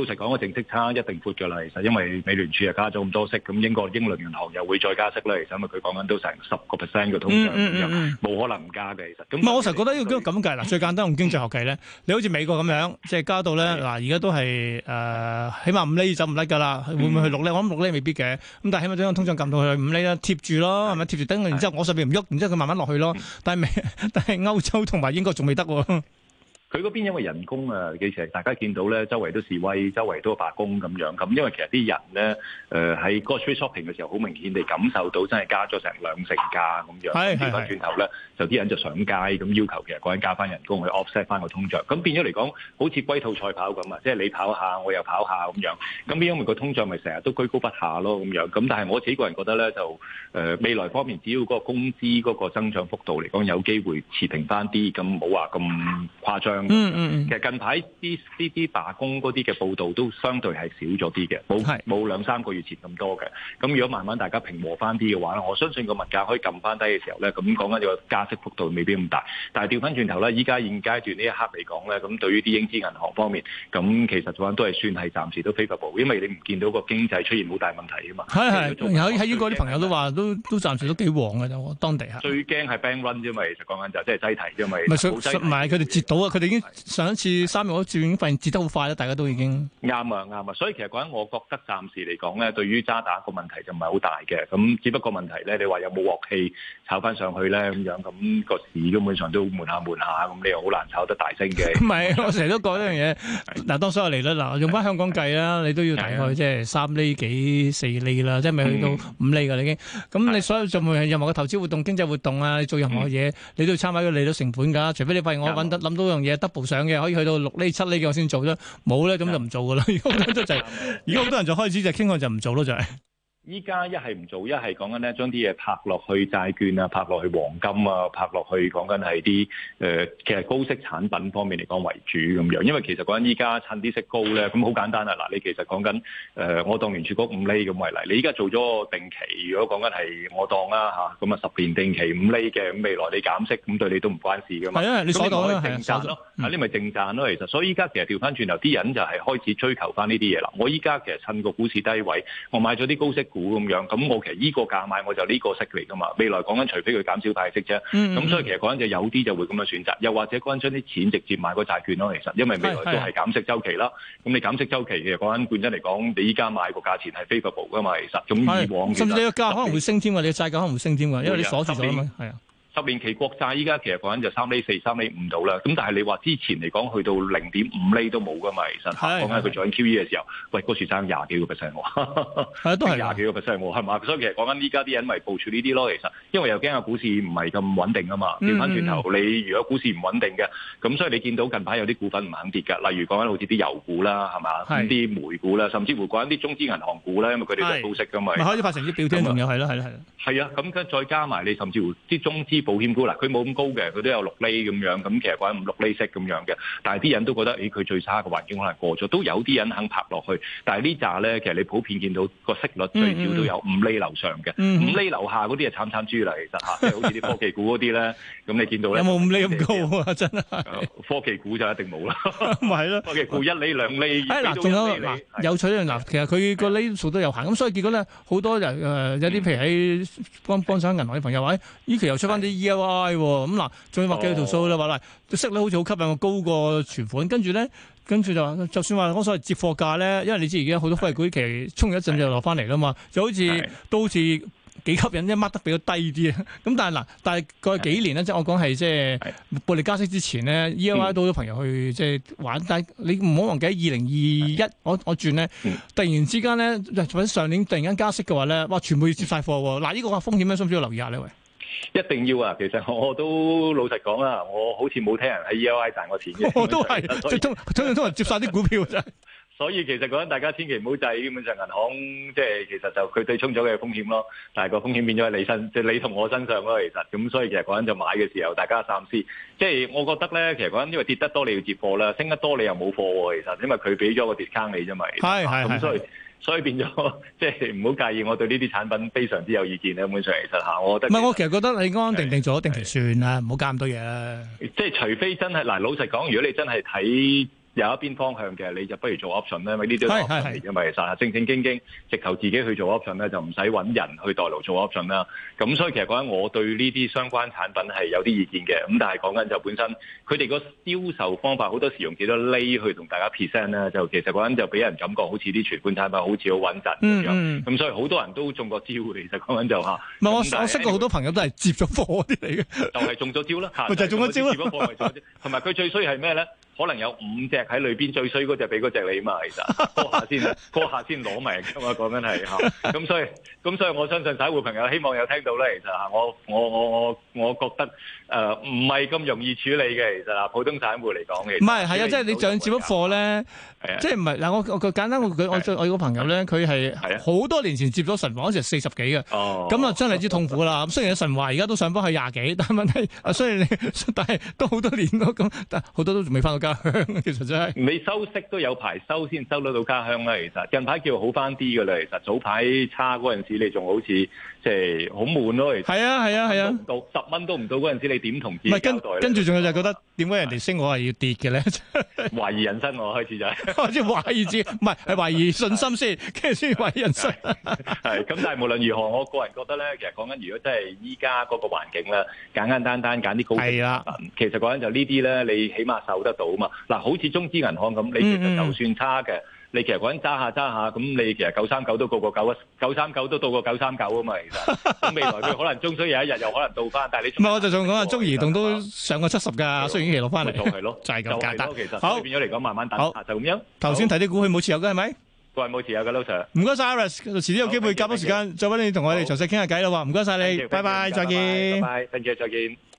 J: 實講個淨息差一定闊㗎啦，其實因為美聯儲又加咗咁多息，咁英國英倫銀行又會再加息啦，其實因為佢講緊都成十個 percent 嘅通脹，冇、嗯嗯嗯、可能唔加嘅其實。
D: 唔係，我成日覺得要咁計嗱，最簡單用經濟學計咧，你好似美國咁樣，即係加到咧嗱，而家都係誒、呃，起碼五厘走唔甩㗎啦，會唔會去六厘？我諗六厘未必嘅，咁但係起碼將通脹撳到去五厘啦，貼住咯，係咪貼住等？然之後我上邊唔喐，然之後佢慢慢落去咯。但係美，但係歐洲同埋英國仲未得喎。
J: 佢嗰邊因為人工啊，其實大家見到咧，周圍都示威，周圍都罷工咁樣。咁因為其實啲人咧，誒喺 grocery shopping 嘅時候，好明顯地感受到真係加咗成兩成價咁樣。係係。調翻轉頭咧，就啲人就上街咁要求，其實嗰人加翻人工去 offset 翻個通脹。咁變咗嚟講，好似龜兔賽跑咁啊，即係你跑下，我又跑下咁樣。咁因為個通脹咪成日都居高不下咯咁樣。咁但係我自己個人覺得咧，就誒、呃、未來方面，只要嗰個工資嗰個增長幅度嚟講有機會持平翻啲，咁冇話咁誇張。嗯嗯，其實近排啲呢啲罷工嗰啲嘅報道都相對係少咗啲嘅，冇冇兩三個月前咁多嘅。咁如果慢慢大家平和翻啲嘅話咧，我相信個物價可以撳翻低嘅時候咧，咁講緊個加息幅度未必咁大。但係調翻轉頭咧，依家現階段呢一刻嚟講咧，咁對於啲英資銀行方面，咁其實講都係算係暫時都 favorable，因為你唔見到個經濟出現好大問題啊嘛。係係，
D: 喺喺英國啲朋友都話都都暫時都幾旺嘅啫，當地係。
J: 最驚係 bank run 啫嘛，其實講緊就即係擠提啫嘛。
D: 唔係唔係佢哋截到啊，佢哋已經。上一次三月嗰轉已經發現跌得好快啦，大家都已經
J: 啱啊啱啊，所以其實講緊，我覺得暫時嚟講咧，對於渣打個問題就唔係好大嘅。咁只不過問題咧，你話有冇鑊氣炒翻上去咧咁樣，咁個市根本上都悶下悶下，咁你又好難炒得大升嘅。
D: 唔係，我成日都講呢樣嘢。嗱，當所有利率嗱，用翻香港計啦，你都要大概即係三厘幾四厘啦，即係未去到五厘㗎啦已經。咁你所有做任何嘅投資活動、經濟活動啊，你做任何嘢，你都要參考個利率成本㗎。除非你發現我揾得諗到樣嘢 double 上嘅，可以去到六厘七厘嘅我先做啫，冇咧咁就唔做噶啦。而家好多就係，而家好多人就開始就傾向就唔做咯，就係。
J: 依家一係唔做，一係講緊咧將啲嘢拍落去債券啊，拍落去黃金啊，拍落去講緊係啲誒，其實高息產品方面嚟講為主咁樣。因為其實講緊依家趁啲息高咧，咁好簡單啊！嗱，你其實講緊誒，我當聯儲局五厘咁為例，你依家做咗個定期，如果講緊係我當啦嚇，咁啊十年定期五厘嘅，咁未來你減息，咁對你都唔關事噶嘛。係啊，你所講啦，係正賺咯，啊你咪正賺咯。其實，所以依家其實調翻轉頭，啲人就係開始追求翻呢啲嘢啦。我依家其實趁個股市低位，我買咗啲高息股咁樣，咁我其實依個價買我就呢個息嚟噶嘛。未來講緊除非佢減少派息啫，咁、嗯、所以其實講緊就有啲就會咁樣選擇，又或者講緊將啲錢直接買個債券咯。其實因為未來都係減息周期啦，咁你減息周期其實講緊本身嚟講，你依家買個價錢係 favorable 噶嘛。其實咁以往甚至你個價可能會升添㗎，你個債價可能會升添㗎，因為你鎖住咗啊嘛，係啊。十年期國債依家其實講緊就三厘四、三厘五度啦，咁但係你話之前嚟講去到零點五厘都冇噶嘛，其實講緊佢做緊 Q E 嘅時候，喂嗰時爭廿幾個 percent 喎，係都係廿幾個 percent 喎，係嘛？所以其實講緊依家啲人咪部署呢啲咯，其實因為又驚個股市唔係咁穩定啊嘛，調翻轉頭你如果股市唔穩定嘅，咁所以你見到近排有啲股份唔肯跌㗎，例如講緊好似啲油股啦，係嘛？啲煤股啦，甚至乎講緊啲中資銀行股啦，因為佢哋都係高息㗎嘛，咪開始發成績表添，仲有係啦係啦係啦，係啊，咁跟再加埋你甚至乎啲中資保險股嗱，佢冇咁高嘅，佢都有六厘咁樣，咁其實講緊五六厘息咁樣嘅，但係啲人都覺得，誒佢最差嘅環境可能過咗，都有啲人肯拍落去，但係呢紮咧，其實你普遍見到個息率最少都有五厘樓上嘅，嗯、五厘樓下嗰啲係慘慘豬啦，其實嚇，即係好似啲科技股嗰啲咧，咁你見到咧有冇五厘咁高啊？真係科技股就一定冇啦，唔係咯，科技股一厘兩厘，誒嗱，仲有嗱有趣嘅嗱，其實佢個厘數都有限，咁所以結果咧好多人誒、呃、有啲譬如喺幫幫手銀行嘅朋友話，依期又出翻啲 E L I 咁嗱，仲要畫幾條數啦，話嗱，息率好似好吸引，我高過存款，跟住咧，跟住就話，就算話嗰所謂接貨價咧，因為你知而家好多科技股期衝咗一陣就落翻嚟啦嘛，就好似都好似幾吸引，一掹得比較低啲啊。咁但係嗱，但係過去幾年咧，即係我講係即係暴力加息之前咧 ，E L I 都好多朋友去即係玩，但係你唔好忘記喺二零二一，我我轉咧，突然之間咧，或者上年突然間加息嘅話咧，哇，全部要接晒貨喎。嗱，呢個風險咧，需唔需要留意下呢？喂？ 一定要啊！其實我都老實講啦，我好似冇聽人喺 E L I 賺過錢嘅。我都係，即係通通通人接晒啲股票真係。所以其實講緊大家千祈唔好制，基本上銀行即係其實就佢對沖咗嘅風險咯，但係個風險變咗喺你身，即係你同我身上咯。其實咁，所以其實講緊就買嘅時候，大家三思。即係我覺得咧，其實講緊因為跌得多你要接貨啦，升得多你又冇貨喎。其實因為佢俾咗個 discount 你啫嘛。係係咁所以。所以變咗，即係唔好介意，我對呢啲產品非常之有意見咧。基本上其實嚇，我覺得唔係，我其實覺得你安安定定做咗定期算啦，唔好加咁多嘢啦。即係除非真係嗱，老實講，如果你真係睇有一邊方向嘅，你就不如做 option 咧，因為呢啲都係 option 嚟嘅嘛。其實正正經經直頭自己去做 option 咧，就唔使揾人去代勞做 option 啦。咁所以其實講緊我對呢啲相關產品係有啲意見嘅。咁但係講緊就本身佢哋個銷售方法好多時用幾多厘去同大家 present 咧，就其實講緊就俾人感覺好似啲存款產品好似好穩陣咁樣。咁、嗯嗯、所以好多人都中過招，其實講緊就嚇。唔係我我識過好多朋友都係接咗貨啲嚟嘅，就係中咗招啦。咪就係中咗招啦。接咗貨咪中咗招。同埋佢最衰係咩咧？可能有五隻喺裏邊，最衰嗰隻俾嗰隻你嘛，其實嗰下先，嗰下先攞命㗎嘛，講緊係嚇。咁所以，咁所以我相信散戶朋友希望有聽到咧，其實嚇我我我我我覺得誒唔係咁容易處理嘅，其實啊，普通散戶嚟講嘅。唔係係啊，即係你上接咗貨咧，即係唔係嗱？我我簡單我我我有個朋友咧，佢係好多年前接咗神華嗰時四十幾嘅，咁啊真係之痛苦啦。咁雖然神華而家都上翻去廿幾，但係問題啊，雖然你但係都好多年咯，咁但係好多都仲未翻到家鄉，其實真係。你收息都有排收先收得到家鄉啦，其實近排叫好翻啲㗎啦，其實早排差嗰陣時你仲好似即係好悶咯，其實。係啊係啊係啊，到十蚊都唔到嗰陣時，你點同自己交代？跟住仲有就係覺得點解人哋升我係要跌嘅咧？懷疑人生我開始就係開始懷疑自己，唔係係懷疑信心先，跟住先懷疑人生。係咁，但係無論如何，我個人覺得咧，其實講緊如果真係依家嗰個環境咧，簡簡單單揀啲高息產品，其實講緊就呢啲咧，你起碼受得到嘛。嗱，好似中資銀行咁，你其實就算差嘅，你其實講緊揸下揸下，咁你其實九三九都過過九啊，九三九都到過九三九啊嘛，其實。咁未來佢可能終須有一日又可能到翻，但係你唔係我就仲講啊，中移動都上過七十㗎，雖然期落翻嚟。就係咯，就係咁簡單。其實好變咗嚟講，慢慢等下就咁樣。頭先睇啲股佢冇持有嘅係咪？佢係冇持有嘅，老 Sir。唔該曬 Iris，遲啲有機會夾多時間再揾你同我哋詳細傾下偈啦喎，唔該曬你，拜拜，再見。拜拜，thank you，再見。